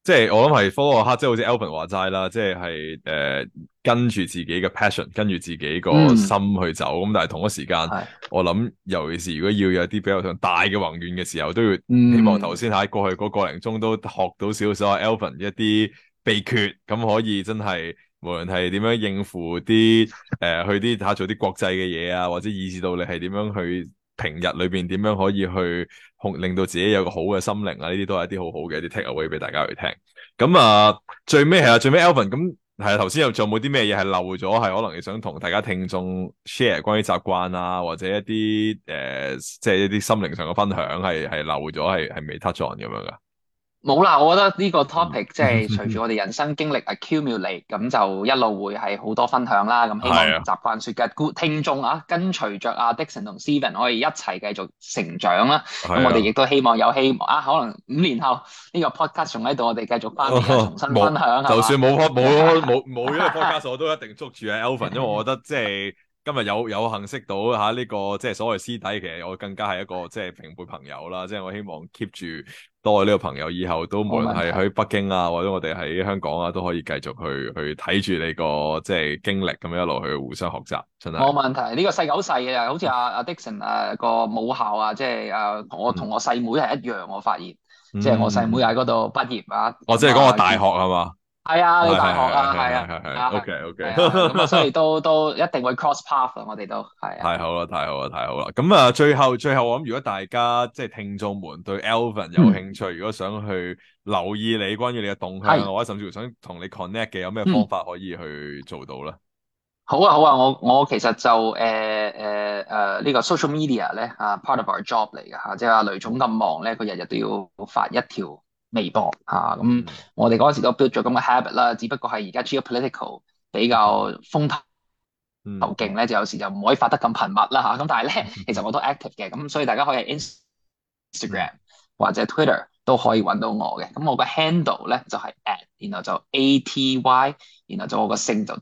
即係我諗係科嗰刻，即係好似 Alvin 話齋啦，即係跟住自己嘅 passion，跟住自己個心去走。咁但係同一時間，我諗尤其是如果要有啲比較上大嘅宏願嘅時候，都要希望頭先喺過去嗰個零鐘都學到少少 Alvin 一啲秘訣，咁可以真係無論係點樣應付啲去啲做啲國際嘅嘢啊，或者以至到你係點樣去平日裏邊點樣可以去令到自己有個好嘅心靈啊，呢啲都係一啲好好嘅一啲 take away 俾大家去聽。咁最尾Alvin 咁係啊，頭先仲有冇啲咩嘢係漏咗，係可能你想同大家聽眾 share 關於習慣啊，或者一啲即係一啲心靈上嘅分享係漏咗，係未 touch on 咁樣噶？ 冇啦，我覺得呢個 topic 即係隨住我哋人生經歷 accumulate，咁就一路會係好多分享啦。咁希望習慣說嘅聽眾跟隨着Dixon 同 Steven 可以一齊繼續成長啦。咁我哋亦都希望有希望可能5年後呢個 podcast 仲喺度，我哋繼續翻嚟重新分享。 就算冇呢個 podcast，我都一定捉住Alvin，因為我覺得即係。今日有幸識到呢個即係所謂師弟，其實我更加係一個即係平輩朋友啦。即係我希望 keep 住多呢個朋友，以後都無論係喺北京啊，或者我哋喺香港啊，都可以繼續去睇住你個即係經歷咁樣一路去互相學習，真係冇問題。呢個世界好細嘅，好似阿 Dixon 個母校即係我同我細妹係一樣，我發現即係我細妹喺嗰度畢業我即係講個大學係嘛？ 係啊，你大學係啊 ，OK， 咁所以都一定會 cross path 我哋都係。 太好啦！咁最後我諗，如果大家即係聽眾們對 Alvin 有興趣，如果想去留意你關於你嘅動向，或者甚至乎想同你 connect 嘅，有咩方法可以去做到咧？ 好啊，我其實就呢個 social media 咧part of our job 嚟嘅即係阿雷總咁忙咧，佢日日都要發一條微博咁我哋嗰時都 build 咗咁嘅 habit 啦，只不過係而家 geopolitical 比較風頭勁咧，就有時就唔可以發得咁頻密啦咁但係咧，其實我都 active 嘅，咁所以大家可以喺 Instagram 或者 Twitter 都可以揾到我嘅。咁我個 handle 咧就係 at， 然後就 ATY， 然後就我個姓就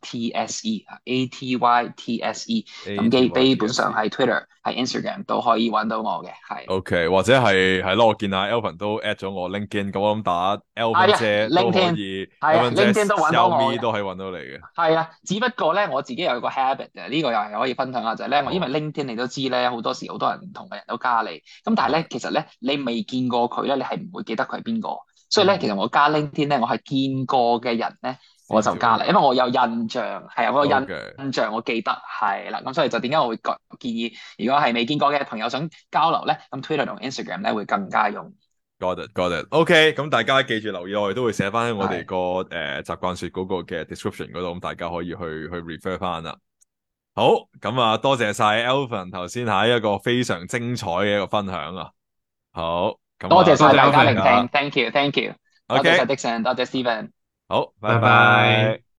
TSE，ATYTSE， 咁基本上係 Twitter 係 Instagram 都可以揾到我嘅，係。 OK， 或者係咯，我見下 Alvin 都 at 咗我 LinkedIn， 咁我諗打 Alvin 姐都可以 ，LinkedIn 都揾到我嘅， 都可以揾到你嘅。 係啊，只不過咧我自己有個 habit 嘅，呢個又係可以分享下就係咧，因為 LinkedIn 你都知咧，好多時好多人唔同嘅人都加你，咁但係咧其實咧你未見過佢咧，你係唔會記得佢係邊個，所以咧其實我加 LinkedIn 咧，我係見過嘅人咧。我就加啦，因為我有印象，係啊，我有印象，我記得係啦，咁所以就點解我會建議，如果係未見過嘅朋友想交流咧，咁 Twitter 同 Instagram 咧會更加容易。 Got it。OK， 咁大家記住留意，我哋都會寫翻喺我哋個習慣說嗰個嘅 description 嗰度，咁大家可以去 refer 翻啦。好，咁多謝晒 Alvin 頭先係一個非常精彩嘅一個分享啊。好， 多謝晒大家聆聽，thank you， OK， 多謝晒 Dixon， 多謝 Steven。 好，拜拜。